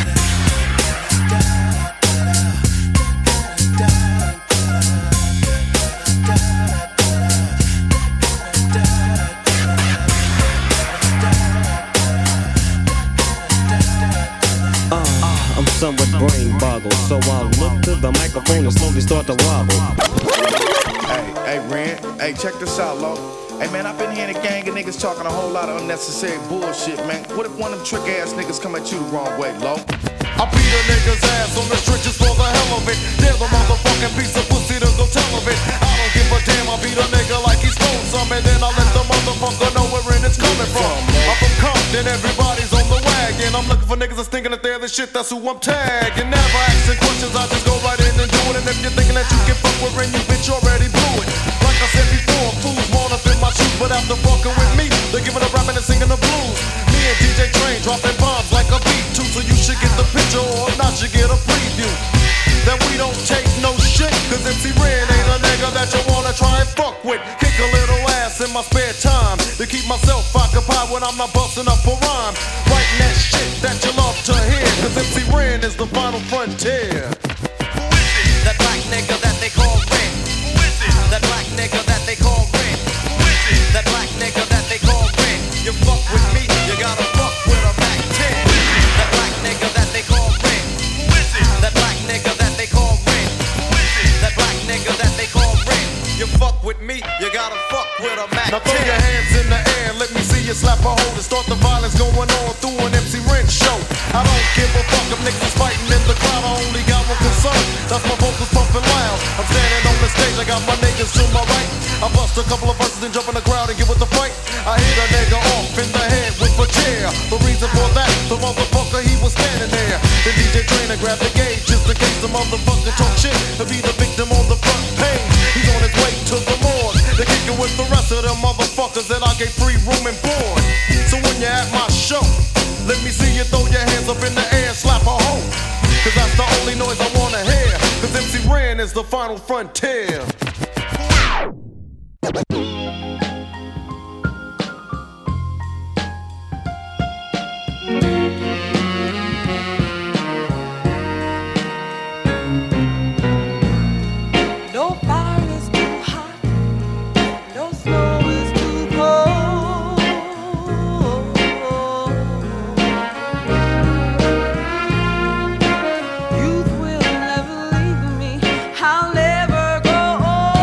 I'm somewhat brain boggled, so I'll look to the microphone and slowly start to wobble. Hey, hey, Ren, hey, check this out, Lo. Hey, man, I've been hearing a gang of niggas talking a whole lot of unnecessary bullshit, man. What if one of them trick ass niggas come at you the wrong way, Lo? I beat a nigga's ass on the stretches for the hell of it. They're the motherfucking piece of pussy to go tell of it. I don't give a damn, I beat a nigga like he stole some, and then I let the motherfucker know where it's coming from. I'm from Compton, everybody's on the wagon. I'm looking for niggas that's thinking that they're the shit, that's who I'm tagging. Never asking questions, I just go right in and do it. And if you're thinking that you can fuck with Ren, you bitch already blew it. Like I said before, fools wanna fit my shoes, but after fucking with me, they're giving a rapping and singing the blues. Me and D J Train dropping bombs like a beat too, so you should get the picture or not you get a preview. That we don't take no shit, cause M C Ren ain't a nigga that you wanna try and fuck with. Kick a little ass in my spare time to keep myself occupied when I'm not busting up a rhyme. Writing that shit that you love to hear, cause M C Ren is the final frontier. Who is it? That black nigga that they call Ren. Who is it? That black nigga that they call Ren. Who is it? That black nigga that they call Ren. You fuck with me, you gotta fuck with a Mac ten. That black nigga that they call Ren. Who is it? That black nigga that they call Ren. Who is it? That black nigga that they call Ren. You fuck with me, you gotta fuck with a Mac ten. Now throw your hands in the air, let me see you slap a hole and start the violence going on through an M C Ren show. I don't give a fuck if niggas fighting in the crowd, I only got one concern, that's my vocals pumping loud. I'm standing on the stage, I got my niggas to my right. I bust a couple of verses and jump in the crowd and get with the fight. I hit a nigga off in the head with a chair. The reason for that, the motherfucker, he was standing there. The D J Trainer grabbed the gauge just in case the motherfucker talk shit to be the victim on the front page. He's on his way to the morgue to kick it with the rest of them motherfuckers that I gave free room and board. So when you're at my show, let me see you throw your hands up in the air and slap a hoe. Cause that's the only noise I wanna hear. Cause M C Ren is the final frontier. No fire is too hot, no snow is too cold. Youth will never leave me, I'll never grow old.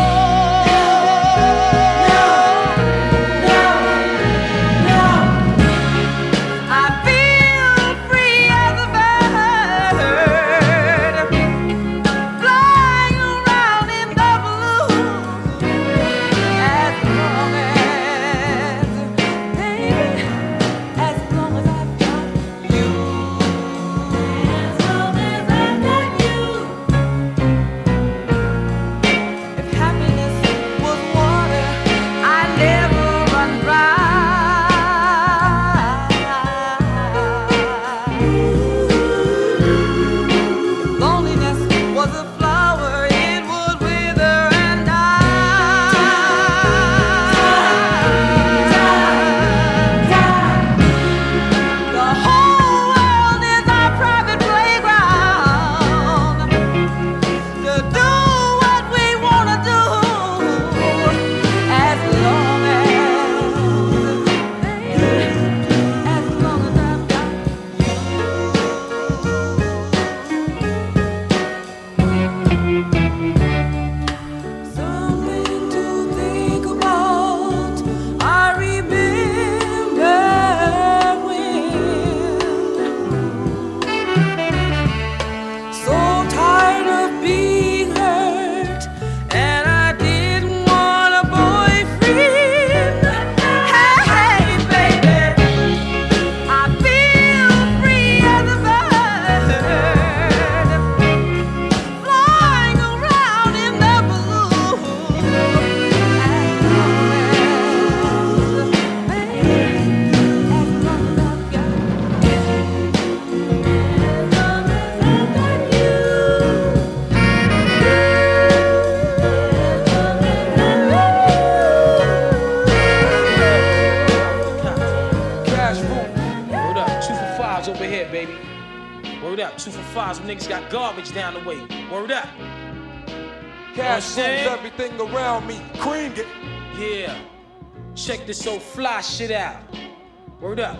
times when niggas got garbage down the way. Word up. Cash moves everything around me. Cream it. Yeah. Check this old fly shit out. Word up.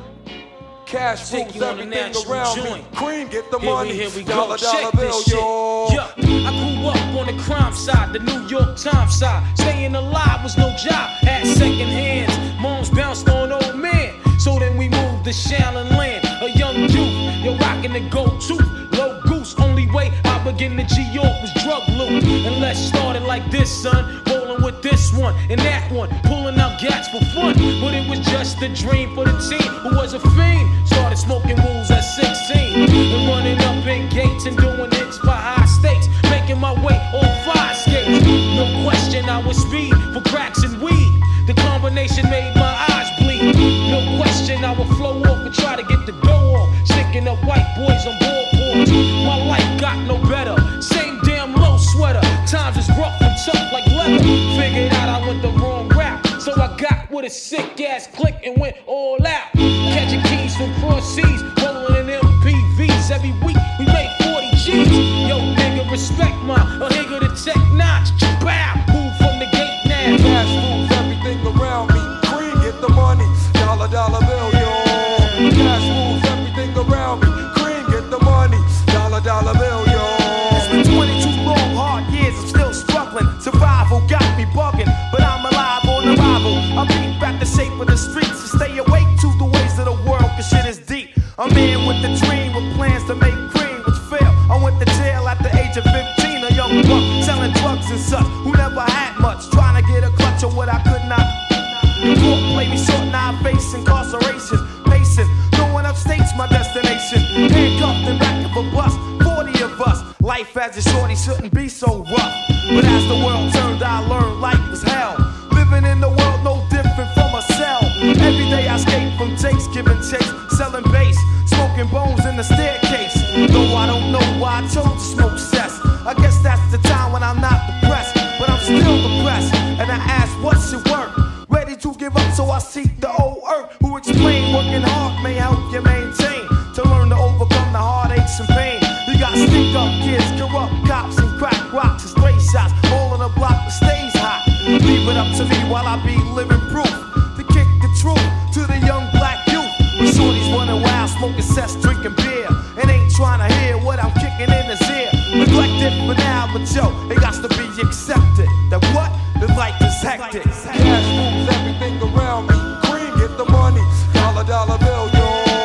Cash Take moves you on a everything natural around joint. me. Cream get the Here money. we, here we dollar, go. dollar Check bill, this shit. yo. Yeah. I grew up on the crime side, the New York Times side. Staying alive was no job. Had second hands. Moms bounced on old men. So then we moved to Shaolin Land. A young youth, you're rocking the go-to. Low goose, only way I begin to G-York was drug loot. And let's start it like this, son. Rolling with this one and that one. Pulling out gats for fun. But it was just a dream for the team who was a fiend. Started smoking wools at sixteen. And running up in gates and doing hits for high stakes. Making my way on fire skates. No question I was speed for cracks and weed. The combination made my eyes bleed. No question I would flow off and try to get the dough off. Sticking up white boys on boardboards. My life got no better. Same damn low sweater. Times is rough and tough like leather. Figured out I went the wrong route. So I got with a sick ass click and went all out. Catching keys from cross seas. Rolling in M P Vs. Every week we made forty G's. Yo, nigga, respect my a nigga the tech notch. Bow. Move from the gate now. Cash moves everything around me. Cream get the money. Dollar, dollar bill, yo. Cash moves everything around me. Cream get the money. Dollar, dollar bill, yo. It's been twenty-two long hard years. I'm still struggling. Survival got me bugging, but I'm alive on arrival. I beat back the shape of the streets to stay awake to the ways of the world, cause shit is deep. A man with a dream with plans to make cream, which failed. I went to jail at the age of fifteen, a young buck selling drugs and such, who never had much, trying to get a clutch on what I could not. The court played me short, now I face incarceration. Pacing, going upstate's my destination. Handcuffed in back of a bus, forty of us. Life as a shorty shouldn't be so rough. But as the world turned, I learned life was hell. Living in the world no different from a cell. Every day I escape from Jake's, giving chase, selling bass, smoking bones in the staircase. Though I don't know why I chose to smoke cess. I guess that's the time when I'm not depressed, but I'm still depressed. And I ask, what's your work? Ready to give up, so I seek the old earth who explain working hard may help you maintain. To learn to overcome the heartaches and pain. You got stick up kids, corrupt cops, and crack rocks and stray shots. All on the block that stays hot. Leave it up to me while I be living proof. To kick the truth to the young black youth. When shorties running wild, smoking cess, drinking beer. And ain't trying to hear what I'm kicking in his ear. Neglected for now, but yo, it got to be accepted. That what? The life is hectic. Cash moves everything around me. Cream get the money. Dollar, dollar bill, yo.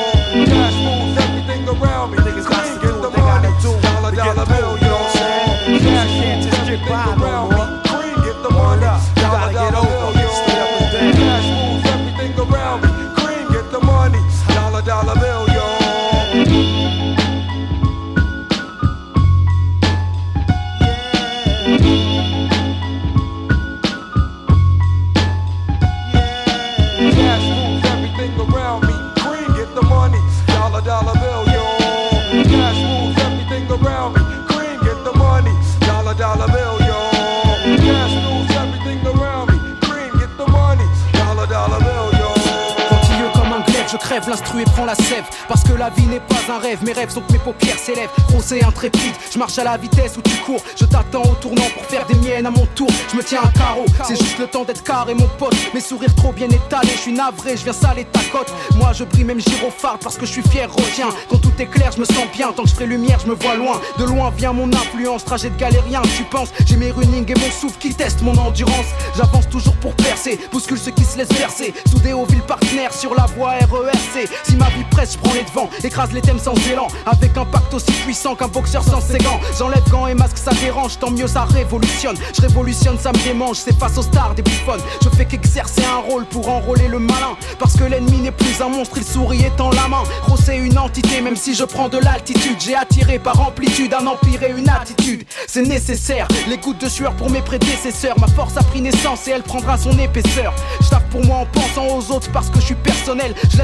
Cash moves everything around me. Cream get the money. Dollar, dollar bill, yo. Cash can't just get by around me. Cream get the money. Dollar, dollar bill, yo. Cash moves everything around me. Cream get the money. Dollar, dollar bill, yo. Cash moves everything around me. Cream get the money. Dollar, dollar bill, yo. Cash moves everything around me. Cream get the money. Dollar, dollar bill, yo. Cash moves everything around me. Cream get the money. Dollar, dollar bill, yo. Quantilleux comme un glaive, je crève l'instru et prends la sève. Parce que la vie n'est pas un rêve, mes rêves sont que mes paupières s'élèvent. Procès intrépide, je marche à la vitesse où tu cours. Je t'attends au tournant pour faire des miennes à mon tour. Je me tiens à carreau, c'est juste le temps d'être carré mon pote. Mes sourires trop bien étalés, je suis navré, je viens saler ta cote. Moi je brille même gyrophare parce que je suis fier, retiens. Quand tout est clair, je me sens bien, tant que je ferai lumière, je me vois loin. De loin vient mon influence, trajet de galérien, tu penses. J'ai mes runnings et mon souffle qui testent mon endurance. J'avance toujours pour percer, bouscule ceux qui se laissent bercer. Soudé aux villes partenaires sur la voie R E R C. Si ma vie presse, je prends les devants, écrase les thèmes sans élan. Avec un pacte aussi puissant qu'un boxeur sans ses gants. J'enlève gants et masques, ça dérange, tant mieux ça révolutionne. Je révolutionne, ça me démange, c'est face aux stars des bouffonnes. Je fais qu'exercer un rôle pour enrôler le malin. Parce que l'ennemi n'est plus un monstre, il sourit étant la main. Gros c'est une entité, même si je prends de l'altitude. J'ai attiré par amplitude un empire et une attitude. C'est nécessaire, les gouttes de sueur pour mes prédécesseurs. Ma force a pris naissance et elle prendra son épaisseur. Je tape pour moi en pensant aux autres parce que je suis personnel. Je laisse aux bourgeois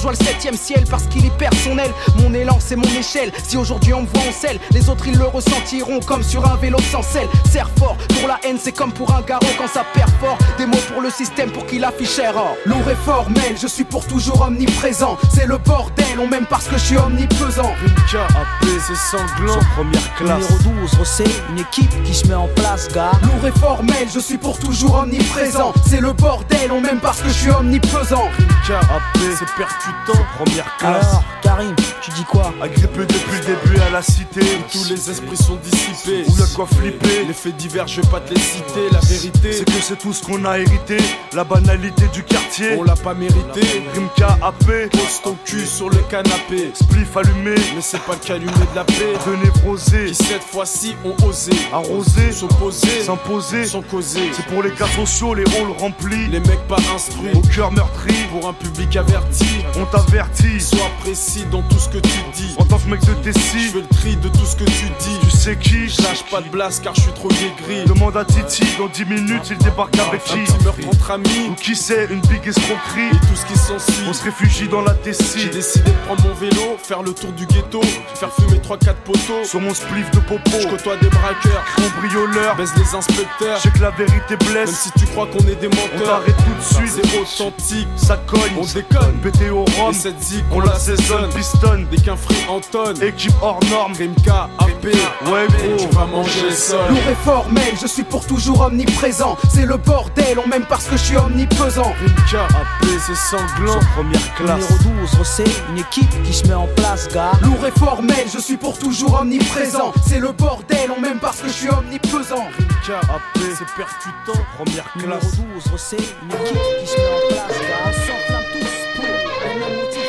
rejoins le septième ciel parce qu'il y perd son aile. Mon élan c'est mon échelle, si aujourd'hui on me voit en selle, les autres ils le ressentiront comme sur un vélo sans selle. Serre fort, pour la haine c'est comme pour un garrot quand ça perd fort. Des mots pour le système pour qu'il affiche erreur. Lourd et formel, je suis pour toujours omniprésent. C'est le bordel, on m'aime parce que je suis omnipesant. Rimka, A P, c'est sanglant, sur première classe. Numéro douze, Rossé, une équipe qui se met en place, gars. Lourd et formel, je suis pour toujours omniprésent. C'est le bordel, on m'aime parce que je suis omnipesant. Rimka, A P, c'est percutant, première classe. Alors, Karim, tu dis quoi? Agrippé depuis le début à la cité, où tous les esprits sont dissipés, où y'a de quoi flipper. Les faits divers, je vais pas te les citer. La vérité, c'est que c'est tout ce qu'on a hérité. La banalité du quartier, on l'a pas mérité. Rimka, A P, pose ton cul sur le canapé. Spliff allumé, mais c'est pas le calumet de la paix. De névrosés, qui cette fois-ci ont osé arroser, s'opposer, s'imposer, sans causer. C'est pour les cas sociaux, les rôles remplis. Les mecs pas instruits, au cœur meurtri. Pour un public averti, on t'avertit. Sois précis dans tout ce que tu dis. En tant que mec de Tessie, je fais le tri de tout ce que tu dis. Tu sais qui, je lâche pas de blast car je suis trop aigri. Demande à Titi, dans dix minutes il débarque avec qui? Un petit meurtre entre amis, ou qui sait, une big escroquerie. Et tout ce qui s'ensuit, on se réfugie dans la Tessie. J'ai décidé de prendre mon vélo, faire le tour du ghetto, faire fumer trois quatre poteaux sur mon spliff de popo. Je côtoie des braqueurs, cambrioleurs, baise les inspecteurs. Je sais que la vérité blesse, même si tu crois qu'on est des menteurs. On t'arrête tout de suite, c'est authentique, ça cogne, on déconne, pété au rhum. Et cette zik, on l'assaisonne, pistonne, des qu'un free Anton. Équipe hors norme, Rimka, A P, ouais gros, tu vas manger le sol. Lourd et formel, je suis pour toujours omniprésent. C'est le bordel, on m'aime parce que je suis omnipesant. Rimka, A P, c'est sanglant, sur première classe. Numéro douze, Rossé, une équipe qui se met en place, gars. Lourd et formel, je suis pour toujours omniprésent. C'est le bordel, on m'aime parce que je suis omnipesant. Rimka, A P, c'est percutant, première classe. Numéro douze, Rossé, une équipe qui se met en place, gars. On s'enflamme tous pour le même motif.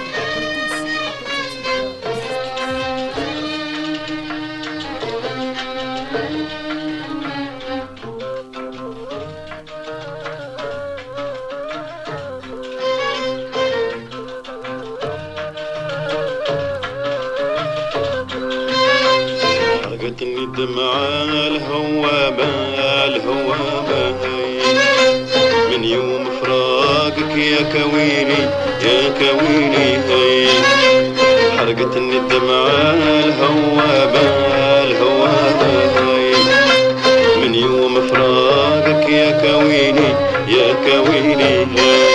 حرقتني الدمعة الهوامة الهوامة من يوم فراقك يا كويني يا كويني حرقتني الدمعة الهوامة الهوامة من يوم فراقك يا كويني يا كويني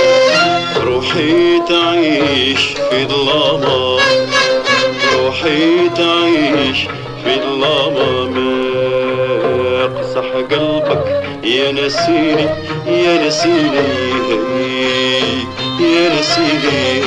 روحي تعيش في ظلامة روحي تعيش في الظلام اقصح قلبك يا نسيني يا نسيني يا نسيني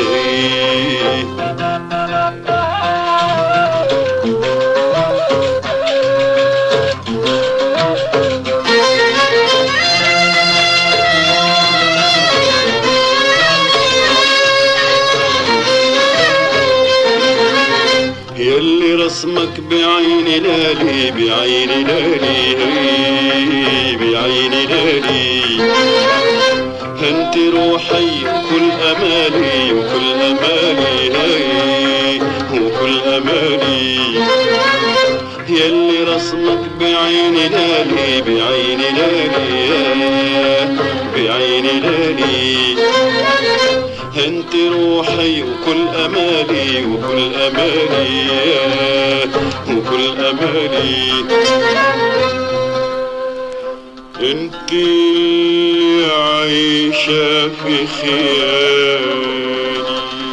يلي رسمك بعيني لالي بعيني لالي بعيني لالي انت روحي وكل امالي وكل امالي وكل امالي يلي رسمك بعيني لالي بعيني لالي بعيني لالي انت روحي وكل امالي وكل امالي وكل امالي انت اللي عايشة في خيالي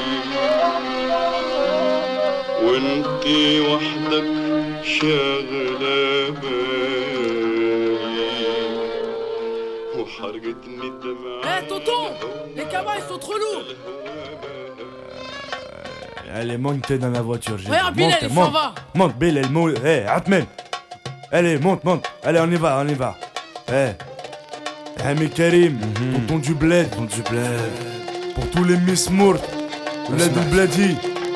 وانت وحدك شاغلة بالي وحرقتني الدمعة. Eh tonton, les cabas ils sont trop lourds. Allez, monte dans la voiture. Regarde, Bilal, il s'en va. Monte, Bilal, monte. Hé, Atmen. Allez, monte, monte. Allez, on y va, on y va. Hé. Hami Karim, tonton du bled. Tonton du bled. Pour tous les Miss Mourt. Bled ou Bledi.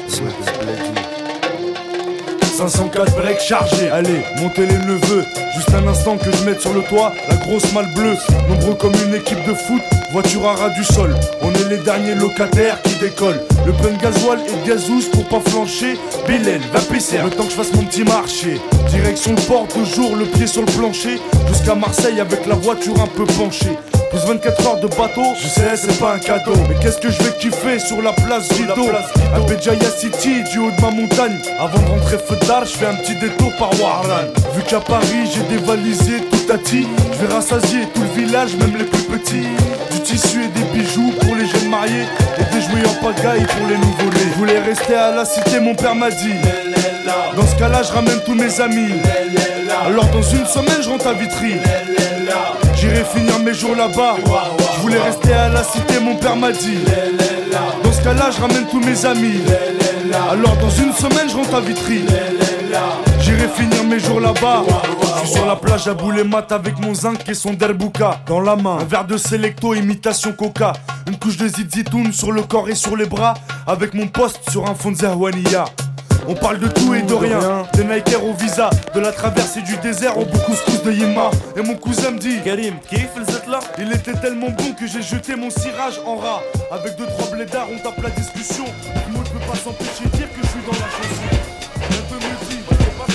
cinq cent quatre breaks chargés. Allez, montez les neveux. Juste un instant que je mette sur le toit la grosse malle bleue. Nombreux comme une équipe de foot, voiture à ras du sol. On est les derniers locataires qui décollent. Le plein de gasoil et de gazouze pour pas flancher. Bilal, va pisser, le temps que je fasse mon petit marché. Direction le port, toujours le pied sur le plancher. Jusqu'à Marseille avec la voiture un peu penchée. Plus vingt-quatre heures de bateau, je sais c'est pas un cadeau. Mais qu'est-ce que je vais kiffer sur la place Rideau, à Béjaïa City, du haut de ma montagne. Avant de rentrer feu d'art, je fais un petit détour par Warlan. Vu qu'à Paris j'ai dévalisé tout à ti, je vais rassasier tout le village, même les plus petits. Du tissu et des bijoux pour les jeunes mariés, et des jouets en pagaille pour les nouveau-nés. Je voulais rester à la cité, mon père m'a dit. Dans ce cas-là, je ramène tous mes amis. Alors dans une semaine, je rentre à Vitry. J'irai finir mes jours là-bas. Je voulais rester à la cité, mon père m'a dit. Dans ce cas-là, je ramène tous mes amis. Alors dans une semaine, je rentre à Vitry. J'irai finir mes jours là-bas. Je suis sur la plage à Boulet-Mat avec mon zinc et son derbouka dans la main. Un verre de Selecto, imitation coca. Une couche de zizitoun sur le corps et sur les bras. Avec mon poste sur un fond de Zahouania. On parle de tout et de rien, des Nike au visa, de la traversée du désert au couscous de Yema. Et mon cousin me dit Karim, kiff le là. Il était tellement bon que j'ai jeté mon cirage en rat. Avec deux trois blédards on tape la discussion. Moi je peux pas s'empêcher de dire que je suis dans la chanson. Un peu me dit, bah, c'est pas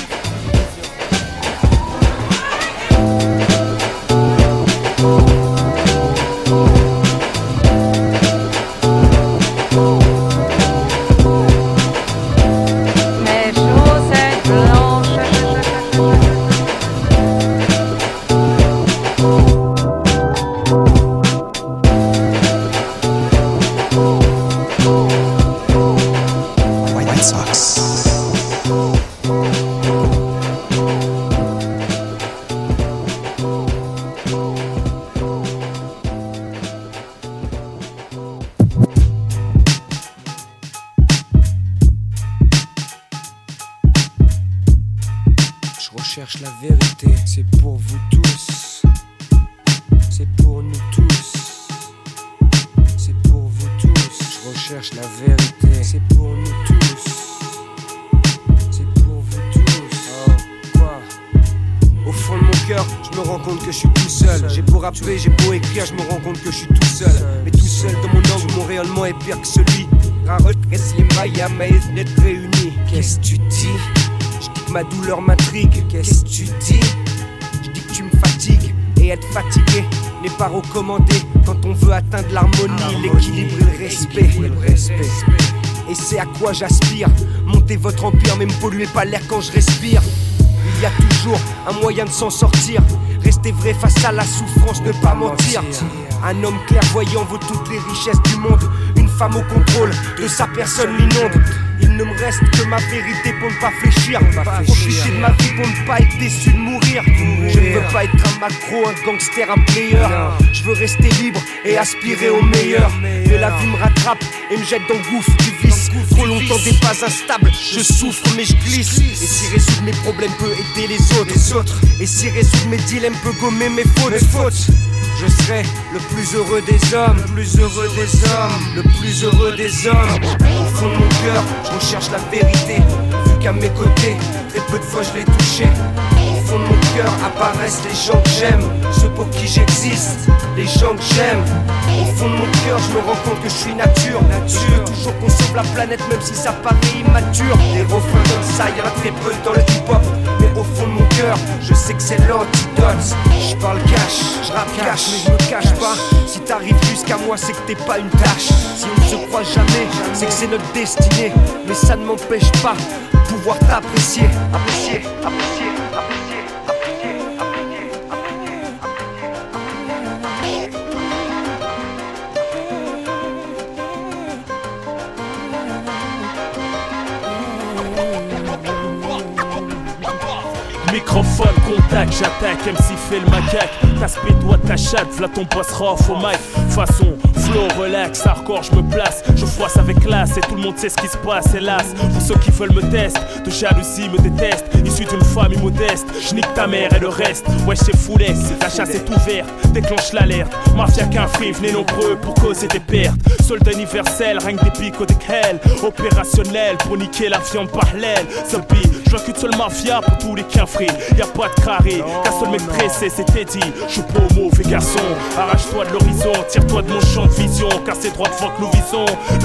La vérité, c'est pour vous tous, c'est pour nous tous, c'est pour vous tous. Je recherche la vérité, c'est pour nous tous, c'est pour vous tous. Oh, quoi? Au fond de mon cœur, je me rends compte que je suis tout seul. J'ai beau rapper, j'ai beau écrire, je me rends compte que je suis tout seul. Mais tout seul dans mon angle, mon rayonnement est pire que celui. D'être réunis. Qu'est-ce que tu dis? Ma douleur m'intrigue, qu'est-ce que tu dis? Je dis que tu me fatigues, et être fatigué n'est pas recommandé quand on veut atteindre l'harmonie, l'équilibre et le respect. Et c'est à quoi j'aspire, monter votre empire mais me polluez pas l'air quand je respire. Il y a toujours un moyen de s'en sortir, rester vrai face à la souffrance, ne pas mentir. Un homme clairvoyant vaut toutes les richesses du monde, une femme au contrôle de sa personne l'inonde. Il ne me reste que ma vérité pour ne pas fléchir, profiter de ma vie pour ne pas être déçu de mourir. Je ne veux pas être un macro, un gangster, un player. Je veux rester libre et aspirer au meilleur. Mais la vie me rattrape et me jette dans le gouffre du vice. Trop longtemps des pas instables, je souffre mais je glisse. Et si résoudre mes problèmes peut aider les autres, et si résoudre mes dilemmes peut gommer mes fautes, je serai le plus heureux des hommes, le plus heureux des hommes, le plus heureux des hommes. Au fond de mon cœur, je recherche la vérité, vu qu'à mes côtés, très peu de fois je l'ai touché. Au fond de mon cœur apparaissent les gens que j'aime, ceux pour qui j'existe, les gens que j'aime. Au fond de mon cœur, je me rends compte que je suis nature. Je veux toujours qu'on sauve la planète, même si ça paraît immature. Des refrains comme ça, y'en a très peu dans le hip-hop. Mais au fond de mon cœur, je sais que c'est l'antidote. Je parle cash, je rappe cash, mais je me cache pas. Si t'arrives jusqu'à moi, c'est que t'es pas une tâche. Si on ne se croit jamais, c'est que c'est notre destinée. Mais ça ne m'empêche pas de pouvoir t'apprécier. Apprécier, apprécier, apprécier, apprécier, apprécier, Microphone, contact, j'attaque, M C fait le macaque. T'aspect doigt ta chatte, v'là ton boss rough au mic. Façon, flow, relax, hardcore, je me place. Je froisse avec classe et tout le monde sait ce qui se passe, hélas. Pour ceux qui veulent me tester, de jalousie me détestent. Issu d'une famille modeste, j'nique ta mère et le reste. Ouais, c'est foulet, la chasse est ouverte, déclenche l'alerte. Mafia qu'un free, venez nombreux pour causer des pertes. Soldat universel, règne des pics au hell. Opérationnel pour niquer la viande par l'aile. Zombie, je vois qu'une seule mafia pour tous les quinfrés. Y'a pas de carré, qu'un seul mec pressé, c'était dit. Je suis pas mauvais garçon, arrache-toi de l'horizon, tire-toi de mon champ de vision, car c'est droit devant que nous visons.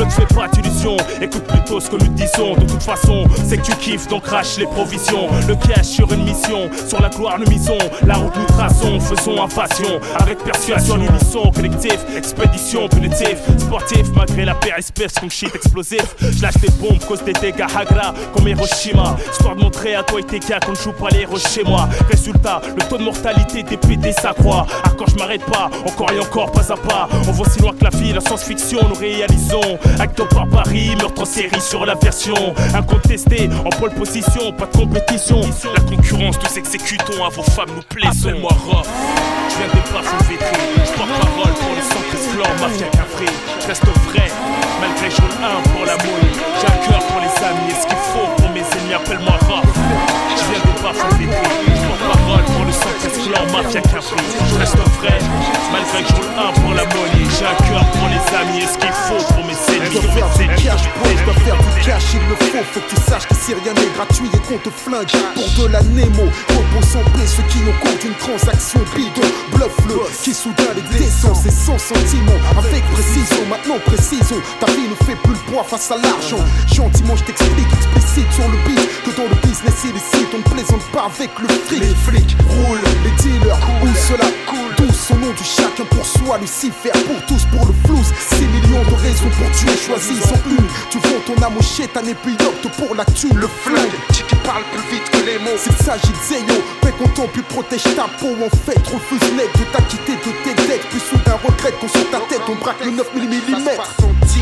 Ne te fais pas d'illusions, écoute plutôt ce que nous disons. De toute façon, c'est que tu kiffes, donc crache les provisions. Le cash sur une mission, sur la gloire nous misons. La route nous traçons, faisons en passion. Avec persuasion, l'unisson, collectif, expédition, punitif, sportif. Malgré la périspèce, comme shit explosif. Je lâche des bombes, cause des dégâts Hagra, comme Hiroshima. Histoire de montrer à toi et tes gars qu'on ne joue pas les héros chez moi. Résultat, le taux de mortalité des P D s'accroît. Ah, quand je m'arrête pas, encore et encore, pas à pas. On voit si loin que la vie, la science-fiction, nous réalisons. Acte par Paris, meurtre en série sur la version. Incontesté, en pole position, pas de compétition. La concurrence, nous exécutons, à vos femmes nous plaisons. Appelle-moi Rof, je viens des plafonds vétrés. Je porte parole pour le centre esclore, mafia cafré. Je reste vrai, malgré je roule un pour la monnaie. J'ai un cœur pour les amis, et ce qu'il faut pour mes ennemis, appelle-moi Rof. Je viens des plafonds vétrés. Je porte parole pour le centre esclore, mafia café. Je reste vrai, malgré que je roule un pour la monnaie. J'ai un cœur pour les amis, et ce qu'il faut pour mes ennemis. Je dois faire du cash, bro, je dois faire du cash, il le faut. Faut que tu saches qu'ici rien n'est gratuit et qu'on te flingue pour de la Nemo. Repose en paix ceux qui n'ont compte une transaction bidon. Bluffe-le, qui soudain les descend, c'est sans sentiment. Avec précision, maintenant précision. Ta vie ne fait plus le poids face à l'argent. Gentiment, je t'explique, explicite sur le beat, que dans le business illicite, on ne plaisante pas avec le fric. Les flics roulent, les dealers où cela coule. Tous au nom du chacun pour soi, Lucifer pour tous, pour le flouze. Six millions de raisons pour tuer, choisissons une. Tu vends ton âme au chétan et puis opte pour la thune. Le flingue, qui parle plus vite que les mots. S'il s'agit de Zéyo, paix content puis protège ta peau. En fait, refuse net de t'acquitter de tes dettes. Puis soudain regrette qu'on sur ta tête, on braque le neuf millimètres.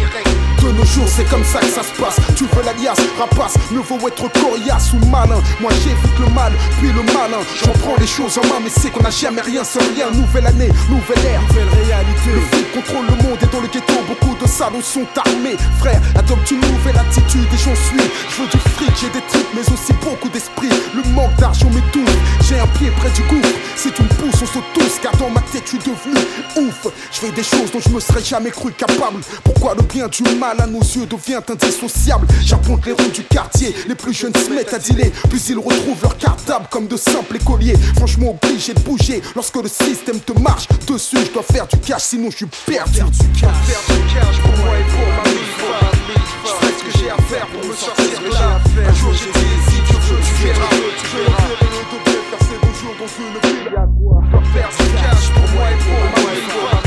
De nos jours, c'est comme ça que ça se passe. Tu veux l'alias, rapace, mieux vaut être coriace ou malin. Moi j'évite le mal, puis le malin. J'en prends les choses en main, mais c'est qu'on n'a jamais rien sans rien. Nouvelle année, nouvelle ère, nouvelle réalité. Le flic contrôle le monde et dans le ghetto, beaucoup de salauds sont armés. Frère, adopte une nouvelle attitude et j'en suis. Je veux du fric, j'ai des trucs, mais aussi beaucoup d'esprit. Le manque d'argent m'étouffe, j'ai un pied près du gouffre. Si tu me pousses, on saute tous, car dans ma tête, je suis devenu ouf. Je fais des choses dont je me serais jamais cru capable. Pourquoi le bien du mal à nos yeux devient indissociable? J'apponte les rues du quartier, les plus jeunes se mettent à dealer. Puis ils retrouvent leur cartable comme de simples écoliers. Franchement obligé de bouger lorsque le système te marche dessus. Je dois faire du cash, sinon je suis perdu. Faire du cash, faire du cash pour moi et pour ma vie. Je fais ce que j'ai à faire pour me sortir de là. Un jour j'ai dit, si tu veux, tu verras. Tu verras. Faire ces beaux jours dans une ville. Je dois faire du cash pour moi et pour ma vie.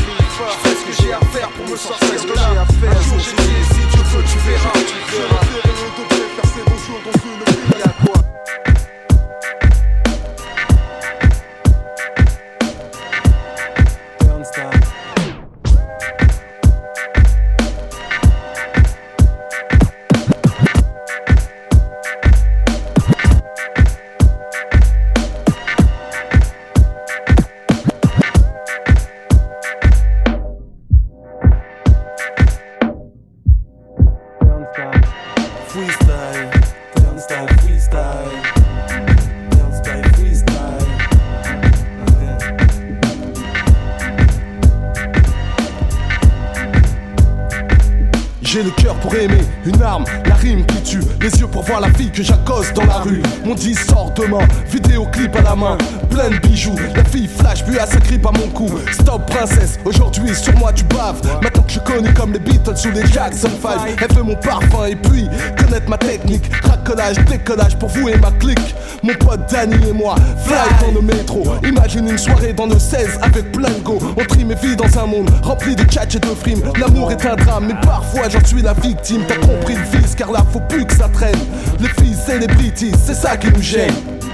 Je fais ce que j'ai à faire pour me sortir de là. Un jour j'ai dit, si tu veux, tu verras. Tu verras. Faire ces beaux jours dans une ville. Y'a quoi? J'ai le cœur pour aimer, une arme, la rime qui tue. Les yeux pour voir la fille que j'accoste dans la rue. Mon disque sort demain, vidéoclip à la main, plein de bijoux. La fille flash, puis elle s'agrippe à mon cou. Stop princesse, aujourd'hui sur moi tu baves. Maintenant que je connais comme les Beatles ou les Jackson five. Elle veut mon parfum et puis connaître ma technique. Racolage, décollage pour vous et ma clique. Mon pote Danny et moi, fly dans le métro. Imagine une soirée dans le seize avec plein de go. On trie mes vies dans un monde rempli de catch et de frimes. L'amour est un drame, mais parfois j'en suis la victime. T'as compris le fils, car là faut plus que ça traîne. Les filles celebrities, c'est ça qui nous gêne.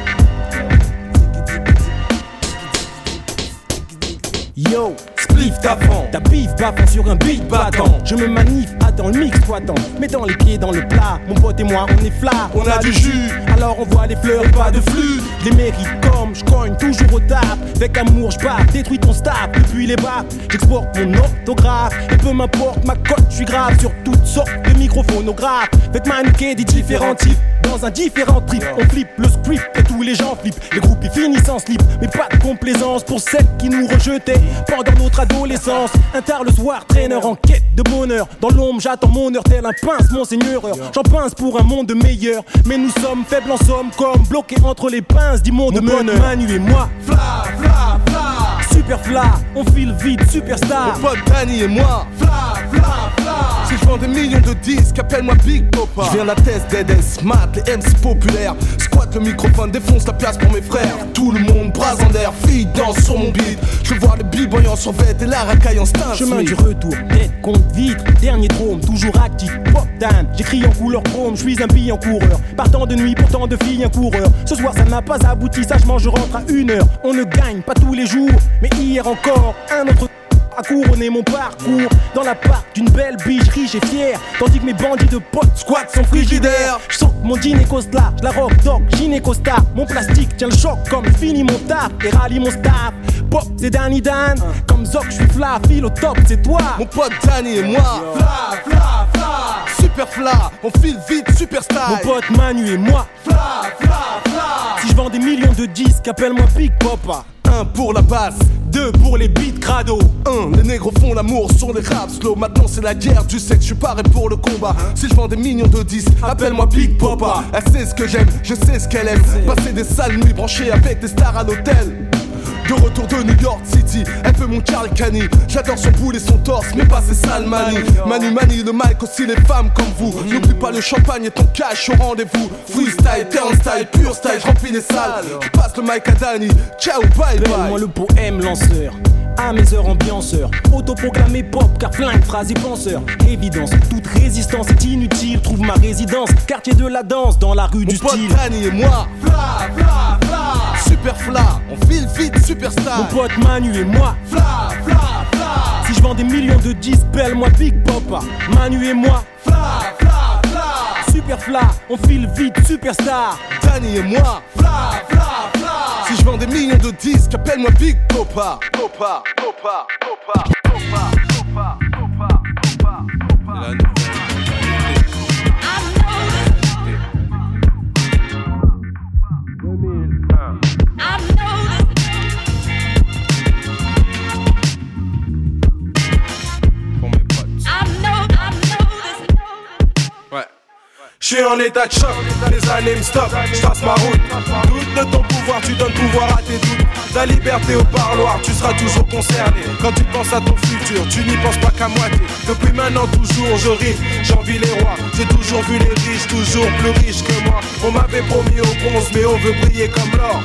Yo, spliff d'avant, ta bif baffant sur un beat battant. Je me manif, attends le mix toitant. Mettons les pieds dans le plat, mon pote et moi on est flat. On a du jus, alors on voit les fleurs, pas de flux. Les mérites comme je cogne toujours au tap. Avec amour je bats, détruis ton staff. Depuis les bas, j'exporte mon orthographe. Et peu m'importe ma cote, je suis grave sur toutes sortes de microphonographes. Faites mannequin des différents types. Dans un différent trip, on flippe le script et tous les gens flippent. Les groupes ils finissent en slip, mais pas de complaisance pour celles qui nous rejetaient pendant notre adolescence. Un tard le soir, traîneur en quête de bonheur. Dans l'ombre j'attends mon heure, tel un pince monseigneur. J'en pince pour un monde meilleur, mais nous sommes faibles en somme, comme bloqués entre les pinces du monde meneur. Manu et moi, fla, fla, fla. Super fla, on file vite, superstar. Mon pote Danny et moi, fla, fla, fla. Si je vends des millions de disques, appelle-moi Big Papa. Je viens de la test des Smart, les M C populaires. Squatte le microphone, défonce la place pour mes frères. Tout le monde bras en l'air, filles danse sur mon beat. Je vois le b-boy en survêt et la racaille en star. Chemin du retour, tête contre vitre, dernier drôme, toujours actif, pop down. J'écris en couleur chrome, je suis un billet en coureur. Partant de nuit, pourtant de filles un coureur. Ce soir ça n'a pas abouti, sagement je rentre à une heure. On ne gagne pas tous les jours, mais hier encore, un autre a couronné mon parcours dans la part d'une belle biche riche et fière. Tandis que mes bandits de potes squat sont frigidaires. Je sens mon dîner là, je la rock dog, gynécosta. Mon plastique tient le choc comme fini mon taf et rallie mon staff. Pop c'est Danny Dan, comme Zoc je suis fla, file au top c'est toi. Mon pote Danny et moi, fla, fla, fla. Super fla, on file vite, super style. Mon pote Manu et moi, fla, fla, fla. Si je vends des millions de disques, appelle-moi Big Papa. Un pour la basse, deux pour les beats crado. Un, les négros font l'amour sur les raps slow. Maintenant c'est la guerre du sexe, je suis paré pour le combat. Si je vends des millions de disques, appelle-moi Big Papa. Elle sait ce que j'aime, je sais ce qu'elle aime. Passer des sales nuits branchées avec des stars à l'hôtel. De retour de New York City, elle fait mon Carl Cani. J'adore son boule et son torse, mais pas ses sales manies. Manu Mani, le mic aussi les femmes comme vous. N'oublie pas le champagne et ton cash au rendez-vous. Freestyle, turnstyle, pure style, remplis les salles. Je passe le mic à Danny, ciao, bye bye. Donne-moi le poème lanceur, à mes heures ambianceurs. Autoproclamé pop, car flingue, phrase et penseur. Évidence, toute résistance est inutile. Trouve ma résidence, quartier de la danse, dans la rue mon du pote style. Danny et moi, fla, fla, fla. Super fla, on file vite, super star. Mon pote Manu et moi, fla, fla, fla. Si je vends des millions de disques, appelle-moi Big Papa. Manu et moi, fla, fla, fla. Super fla, on file vite, superstar. Danny et moi, fla, fla, fla. Si je vends des millions de disques, appelle-moi Big Papa. Papa, Papa, Papa, Papa, Papa, Papa, Papa, Papa. Je suis en état de choc, les années me stoppent, je trace ma route. Doute de ton pouvoir, tu donnes pouvoir à tes doutes. Ta liberté au parloir, tu seras toujours concerné. Quand tu penses à ton futur, tu n'y penses pas qu'à moitié. Depuis maintenant toujours je ris, j'envie les rois. J'ai toujours vu les riches, toujours plus riches que moi. On m'avait promis au bronze, mais on veut briller comme l'or.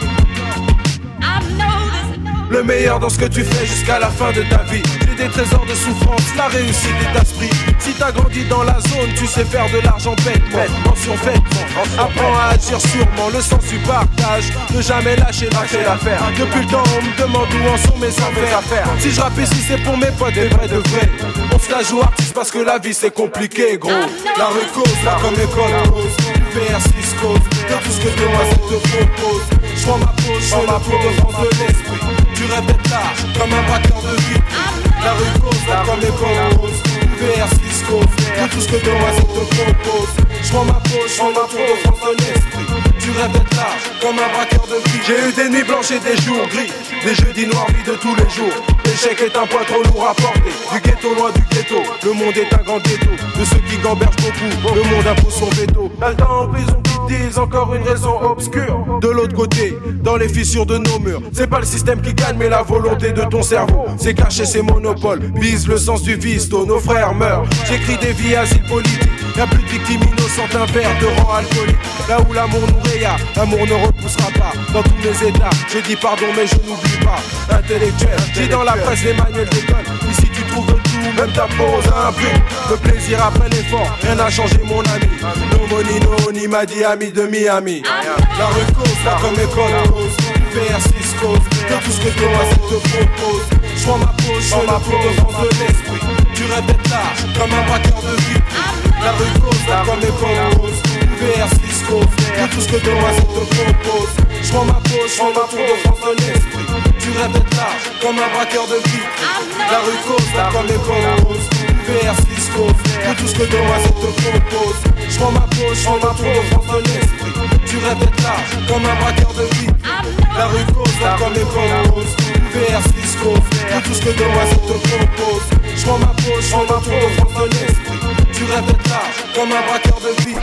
Le meilleur dans ce que tu fais jusqu'à la fin de ta vie. J'ai des trésors de souffrance, la réussite est d'esprit. Si t'as grandi dans la zone, tu sais faire de l'argent bêtement. Mention faite, apprends à agir sûrement. Le sens du partage, ne jamais lâcher l'affaire. Depuis le temps on me demande où en sont mes affaires. Si je rappe ici c'est pour mes potes, des vrais de vrais. On se la joue artiste parce que la vie c'est compliqué gros. La rue cause, là comme école cause. U V R six cause, de tout ce que demoiselle te propose. J'prends ma pause, j'prends ma peau de France de l'esprit. Tu rêves d'être large, comme un braqueur de vie. La rue cause, là comme école cause. U V R six cause, de tout ce que demoiselle te propose. J'prends ma pause, j'prends ma peau de France de l'esprit. Tu rêves d'être large, comme un braqueur de vie. J'ai eu des nuits blanches et des jours gris. Des jeudis noirs, vie de tous les jours. L'échec est un poids trop lourd à porter. Du ghetto loin du ghetto, le monde est un grand ghetto. De ceux qui gambergent beaucoup, le monde impose son veto. T'as le temps en prison qui disent encore une raison obscure. De l'autre côté, dans les fissures de nos murs, c'est pas le système qui gagne mais la volonté de ton cerveau. C'est cacher ses monopoles, vise le sens du vice, tôt nos frères meurent. J'écris des vies asile politiques. Y'a plus de victimes innocentes, un verre de rang alcoolique. Là où l'amour nous raya, l'amour ne repoussera pas. Dans tous mes états, j'ai dit pardon mais je n'oublie pas. Intellectuel, dis dans la presse les manuels d'école. Ici tu trouves tout, même ta pose a un prix. Le plaisir après l'effort, rien n'a changé mon ami. No money, no honey, m'a dit ami de Miami. La rue cause, là comme école cause. U V R six cause, de tout ce que demoiselle te propose. J'prends ma pause, j'prends ma peau de France de l'esprit. Tu rêves d'être large, comme un braqueur de vie. La rue cause, là comme école cause. U V R six cause, de tout ce que demoiselle te propose. J'prends ma pause, j'prends ma peau de France de l'esprit. Tu rêves d'être large, comme un braqueur de vie. La rue cause, là comme école cause. U V R six cause, de tout ce que demoiselle te propose. J'prends ma pause, j'prends ma peau de France de l'esprit. Tu rêves d'être large, comme un braqueur de vie. La rue cause, là comme école cause. U V R six cause, de tout ce que demoiselle te propose. J'prends ma pause, j'prends ma peau de France de l'esprit. Tu rêves d'être large, comme un braqueur de vie.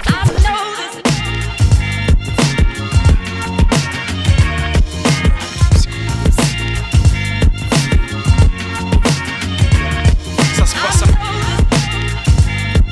Ça se passe à...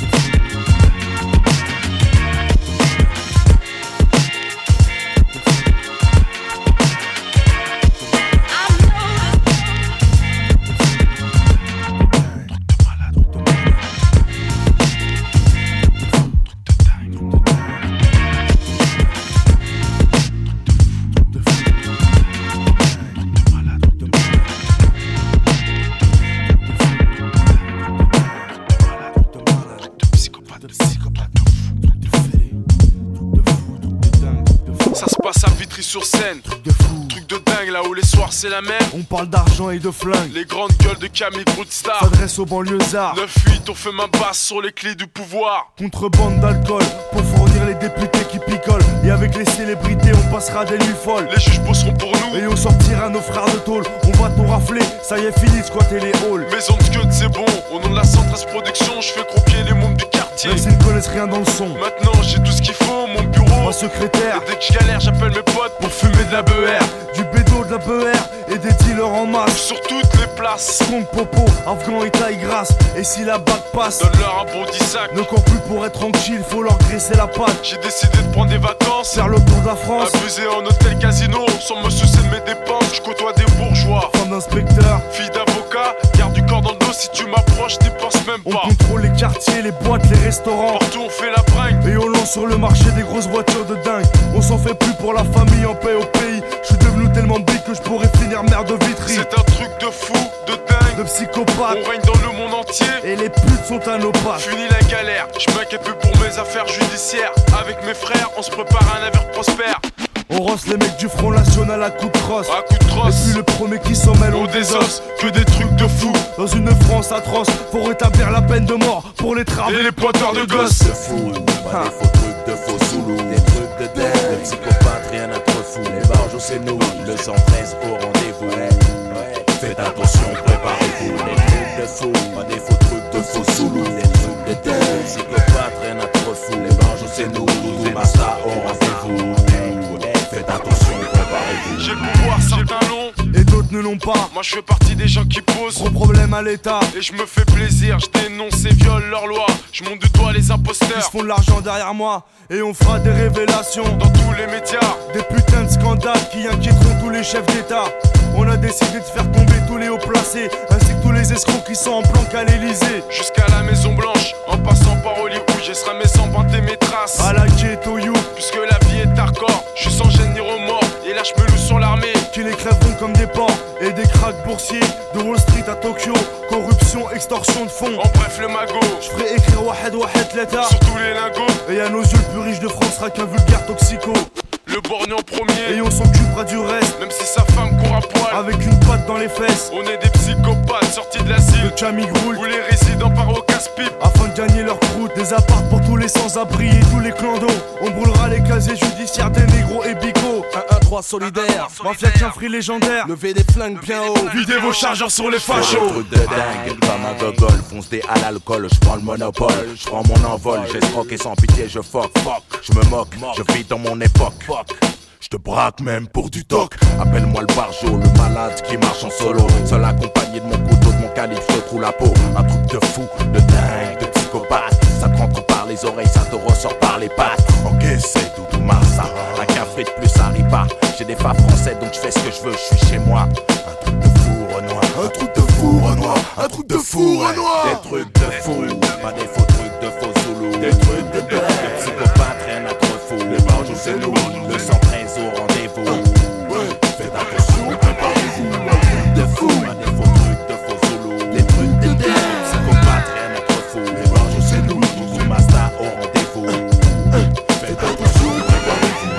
sur scène. Truc de fou, truc de dingue, là où les soirs c'est la même. On parle d'argent et de flingue. Les grandes gueules de Camille Broodstar s'adressent aux banlieusards. neuf huit, on fait main basse sur les clés du pouvoir. Contrebande d'alcool pour fournir les députés qui picolent. Et avec les célébrités on passera des nuits folles. Les juges bosseront pour nous et on sortira nos frères de tôle. On va tout rafler, ça y est fini de squatter les halls. Maison de Scud c'est bon, au nom de la Centrale Production, je fais croquer les mômes du quartier. Même s'ils ne connaissent rien dans le son. Maintenant j'ai tout ce qu'il faut, mon bureau, ma secrétaire. Et dès que je galère j'appelle mes potes pour fumer de la B R. Du bédo, de la B R et des dealers en masse. Sur toutes les places. Skunk, popo, afghan et taille grasse. Et si la bague passe, donne-leur un bon dix sacs. Ne cours plus pour être tranquille, faut leur graisser la patte. J'ai décidé de prendre des vacances, faire le tour de la France. Abuser en hôtel casino, sans me soucier de mes dépenses. Je côtoie des bourgeois, femme d'inspecteur, fille d'avocat. Garde du corps dans le dos, si tu m'approches, t'y penses même pas. On contrôle les quartiers, les boîtes, les restaurants. Partout on fait la bringue. Et on lance sur le marché des grosses voitures de dingue. On s'en fait plus pour la famille en paix au pays. Je suis devenu tellement big que je pourrais finir mère de Vitry. C'est un truc de fou, de dingue, de psychopathe. On règne dans le monde entier. Et les putes sont à nos pattes. Fini la galère, je m'inquiète plus pour mes affaires judiciaires. Avec mes frères, on se prépare à un avenir prospère. On rosse les mecs du Front National à coups de crosse. À coups de crosse. Et puis le premier qui s'en mêle on des os. Que des trucs de fou. Dans une France atroce, faut rétablir la peine de mort pour les travaux et les pointeurs de gosses. De fou, pas des faux trucs de faux zoulous. Des trucs de dingue, de psychopathes, rien à trop fou. Les barges c'est nous, le cent treize au rendez-vous. Faites attention, préparez-vous. Des trucs de fou, pas des faux trucs de faux zoulous. Des trucs de dingue, psychopathes, rien à trop fou. Les barges c'est nous, les Massa au rendez-vous. Faites attention, préparez-vous. J'ai le pouvoir, certains l'ont et d'autres ne l'ont pas. Moi je fais partie des gens qui posent gros problème à l'état. Et je me fais plaisir, je dénonce et viole leur loi. Je monte du doigt les imposteurs. Ils se font de l'argent derrière moi. Et on fera des révélations dans tous les médias. Des putains de scandales qui inquiéteront tous les chefs d'état. On a décidé de faire tomber tous les hauts placés, ainsi que tous les escrocs qui sont en planque à l'Elysée. Jusqu'à la Maison Blanche, en passant par Hollywood, j'essaierai mes sangs, vanter mes traces. À la ghetto you, puisque la vie est hardcore, je suis sans gêne ni remords. Et là je me loue sur l'armée, qui les crèveront comme des porcs. Et des cracks boursiers, de Wall Street à Tokyo. Corruption, extorsion de fonds. En bref le magot, je ferai écrire Wahed Wahed l'État sur tous les lingots. Et à nos yeux le plus riche de France sera qu'un vulgaire toxico. Le borgne en premier, et on s'occupera du reste. Même si sa femme court à poil, avec une patte dans les fesses. On est des psychopathes sortis de l'asile, de Chamigroul, où les résidents partent au casse-pipe afin de gagner leur croûte. Des apparts pour tous les sans-abri et tous les clandos. On brûlera les casiers judiciaires des négros et bigots. un un trois solidaire, mafia qu'un free légendaire. Levez des flingues bien haut, videz vos chargeurs sur les fachos. Truc de dingue, comme un gogol, fonce des à l'alcool, je prends le monopole, je prends mon envol, j'escroque et sans pitié je fuck, je me moque, je vis dans mon époque. Je te braque même pour du toc. Appelle-moi le barjo, le malade qui marche en solo. Seul accompagné de mon couteau, de mon calibre, je te trouve la peau. Un truc de fou, de dingue, de psychopathe. Ça te rentre par les oreilles, ça te ressort par les pattes. Ok, c'est Doudou Massa. Un café de plus arrive pas. J'ai des femmes français donc je fais ce que je veux, je suis chez moi. Un truc de fou Renoir, un truc de fou Renoir, un truc de fou Renoir. Des trucs de fou, pas des faux trucs de faux zoulous. Des trucs de dingue, de psychopathe, rien à trop fou. Les barges c'est nous, le cent treize au rendez-vous. Faites attention, préparez-vous. De fou, pas des faux trucs de faux zoulous. Des trucs de dingue, psychopathe, rien à trop fou. Les barges c'est nous, Doudou Massa au rendez-vous. Faites attention, préparez-vous.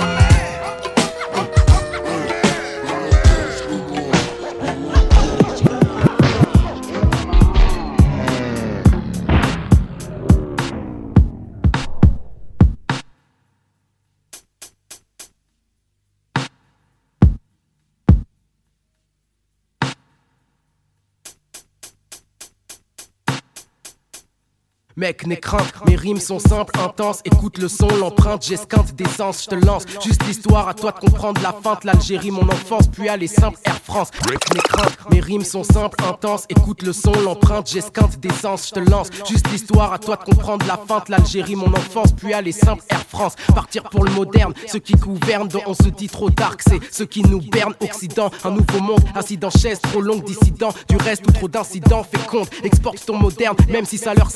Mec, n'aie crainte, mes rimes sont simples, intenses. Écoute le son, l'empreinte, j'esquinte d'essence, je te lance. Juste l'histoire, à toi de comprendre la feinte. L'Algérie, mon enfance, puis aller simple, Air France. N'aie crainte, mes rimes sont simples, intenses. Écoute le son, l'empreinte, j'esquinte d'essence, je te lance. Juste l'histoire, à toi de comprendre la feinte. L'Algérie, mon enfance, puis aller simple, Air France. Partir pour le moderne, ceux qui gouvernent, dont on se dit trop tard que c'est ceux qui nous bernent. Occident, un nouveau monde, assis dans chaise, trop longue, dissident. Du reste ou trop d'incidents, fais compte, exporte ton moderne, même si ça leur sert pas.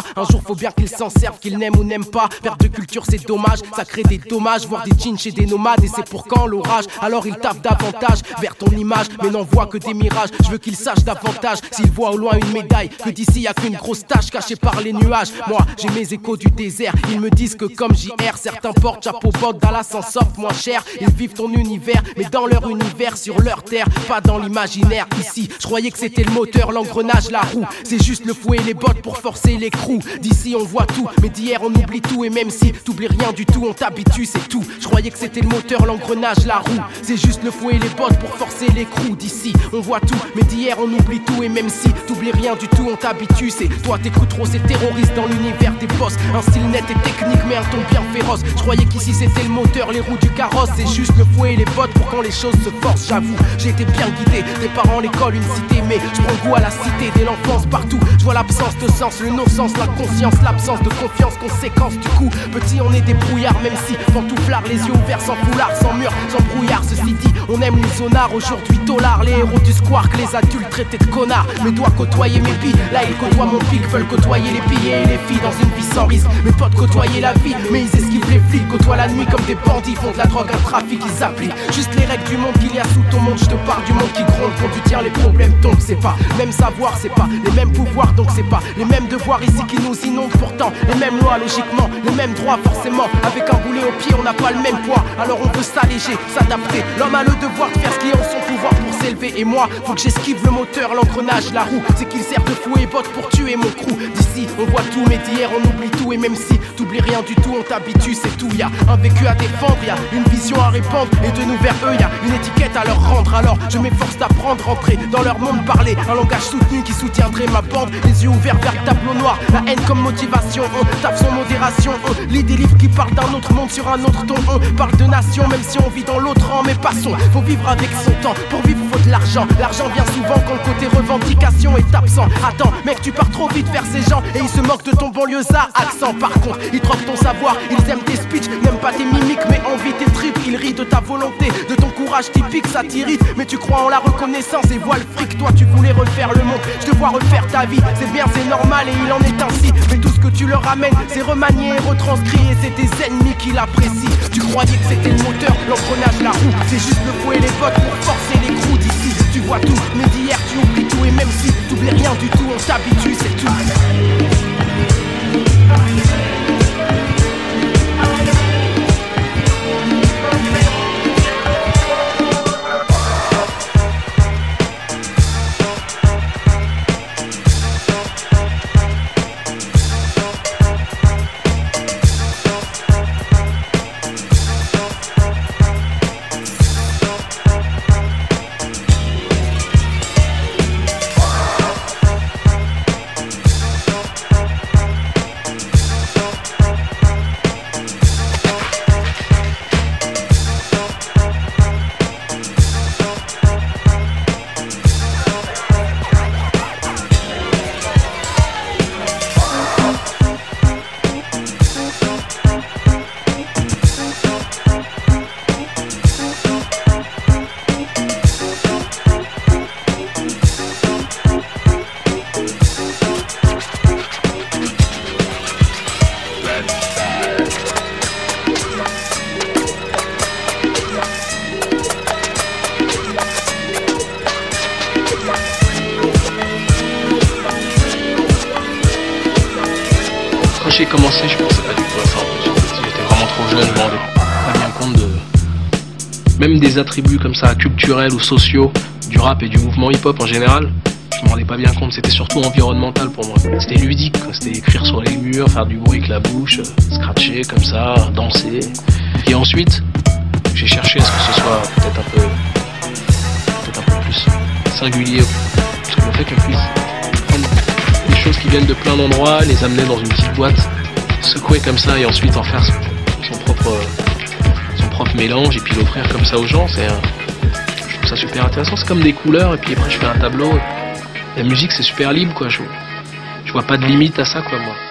Un jour faut bien qu'ils s'en servent, qu'ils n'aiment ou n'aiment pas. Perte de culture c'est dommage, ça crée des dommages. Voir des jeans chez des nomades et c'est pour quand l'orage. Alors ils taffent davantage vers ton image, mais n'en voient que des mirages. Je veux qu'ils sachent davantage, s'ils voient au loin une médaille, que d'ici y a qu'une grosse tache cachée par les nuages. Moi j'ai mes échos du désert, ils me disent que comme J R, certains portent chapeau bottes, Dallas en sortent moins cher. Ils vivent ton univers, mais dans leur univers, sur leur terre, pas dans l'imaginaire. Ici, je croyais que c'était le moteur, l'engrenage, la roue. C'est juste le fouet et les bottes pour forcer l'écrou. D'ici on voit tout, mais d'hier on oublie tout. Et même si t'oublies rien du tout, on t'habitue, c'est tout. Je croyais que c'était le moteur, l'engrenage, la roue. C'est juste le fouet et les bottes pour forcer l'écrou. D'ici on voit tout, mais d'hier on oublie tout. Et même si t'oublies rien du tout, on t'habitue. C'est toi t'écoutes trop ces terroristes dans l'univers des boss. Un style net et technique, mais un ton bien féroce. Je croyais qu'ici c'était le moteur, les roues du carrosse. C'est juste le fouet et les bottes pour quand les choses se forcent. J'avoue, j'ai été bien guidé, des parents, l'école, une cité. Mais je prends goût à la cité dès l'enfance partout. Je vois l'absence de sens, le non-sens, la conscience, l'absence de confiance, conséquence du coup. Petit on est des brouillards, même si pantouflards, les yeux ouverts, sans foulard, sans mur, sans brouillard. Ceci dit, on aime les zonards, aujourd'hui tolard. Les héros du squark, les adultes traités de connards. Mes doigts côtoyer mes billes, là ils côtoient mon pic. Veulent côtoyer les billets et les filles dans une vie sans risque. Mes potes côtoyer la vie, mais ils esquivent les flics. Côtoient la nuit comme des bandits, font de la drogue, un trafic, ils appliquent juste les règles du monde qu'il y a sous ton monde. Je te parle du monde qui gronde, quand tu tiens les problèmes tombent. C'est pas même savoir, c'est pas les mêmes pouvoirs, donc c'est pas les mêmes devoirs ici qui nous inondent. Pourtant les mêmes lois, logiquement, les mêmes droits forcément. Avec un boulet au pied, on n'a pas le même poids. Alors on peut s'alléger, s'adapter. L'homme a le devoir de faire ce qui est en son pouvoir pour s'élever. Et moi, faut que j'esquive le moteur, l'engrenage, la roue. C'est qu'il sert de fouet et botte pour tuer mon crew. D'ici on voit tout, mais d'hier on oublie tout. Et même si t'oublies rien du tout, on t'habitue, c'est tout. Y'a un vécu à défendre, y'a une vision à répandre. Et de nous vers eux, y'a une étiquette à leur rendre. Alors je m'efforce d'apprendre, rentrer dans leur monde, parler un langage soutenu qui soutiendrait ma bande. Les yeux ouverts vers le tableau noir, la haine comme motivation. On tape sans modération, on lit des livres qui parlent d'un autre monde sur un autre ton. On parle de nation, même si on vit dans l'autre rang. Mais passons, faut vivre avec son temps. Pour vivre faut de l'argent, l'argent vient souvent quand le côté revendication est absent. Attends mec, tu pars trop vite vers ces gens et ils se moquent de ton banlieusard accent. Par contre, ils troquent ton savoir, ils aiment tes speeches, n'aiment pas tes mimiques mais envient tes tripes. Ils rient de ta volonté, de ton courage typique, ça t'irrite. Mais tu crois en la reconnaissance et vois le fric. Toi tu voulais refaire le monde, je te vois refaire ta vie. C'est bien, c'est normal et il en est ainsi. Mais tout ce que tu leur ramènes, c'est remanié et retranscrit. Et c'est tes ennemis qui l'apprécient. Tu croyais que c'était le moteur, l'engrenage, la roue. C'est juste le fouet et les bottes pour forcer les crews. D'ici tu vois tout, mais d'hier tu oublies tout. Et même si t'oublies rien du tout, on t'habitue, c'est tout. j'ai commencé, je pensais pas du tout à ça. J'étais vraiment trop jeune, je me rendais pas bien compte de... Même des attributs comme ça, culturels ou sociaux, du rap et du mouvement hip-hop en général, je me rendais pas bien compte, c'était surtout environnemental pour moi. C'était ludique, c'était écrire sur les murs, faire du bruit avec la bouche, scratcher comme ça, danser. Et ensuite, j'ai cherché à ce que ce soit peut-être un peu... peut-être un peu plus singulier. Parce que le fait qu'on puisse prendre des choses qui viennent de plein d'endroits, les amener dans une petite boîte, secouer comme ça et ensuite en faire son propre... son propre mélange et puis l'offrir comme ça aux gens, c'est un... je trouve ça super intéressant. C'est comme des couleurs et puis après je fais un tableau. La musique c'est super libre quoi, je, je vois pas de limite à ça quoi moi.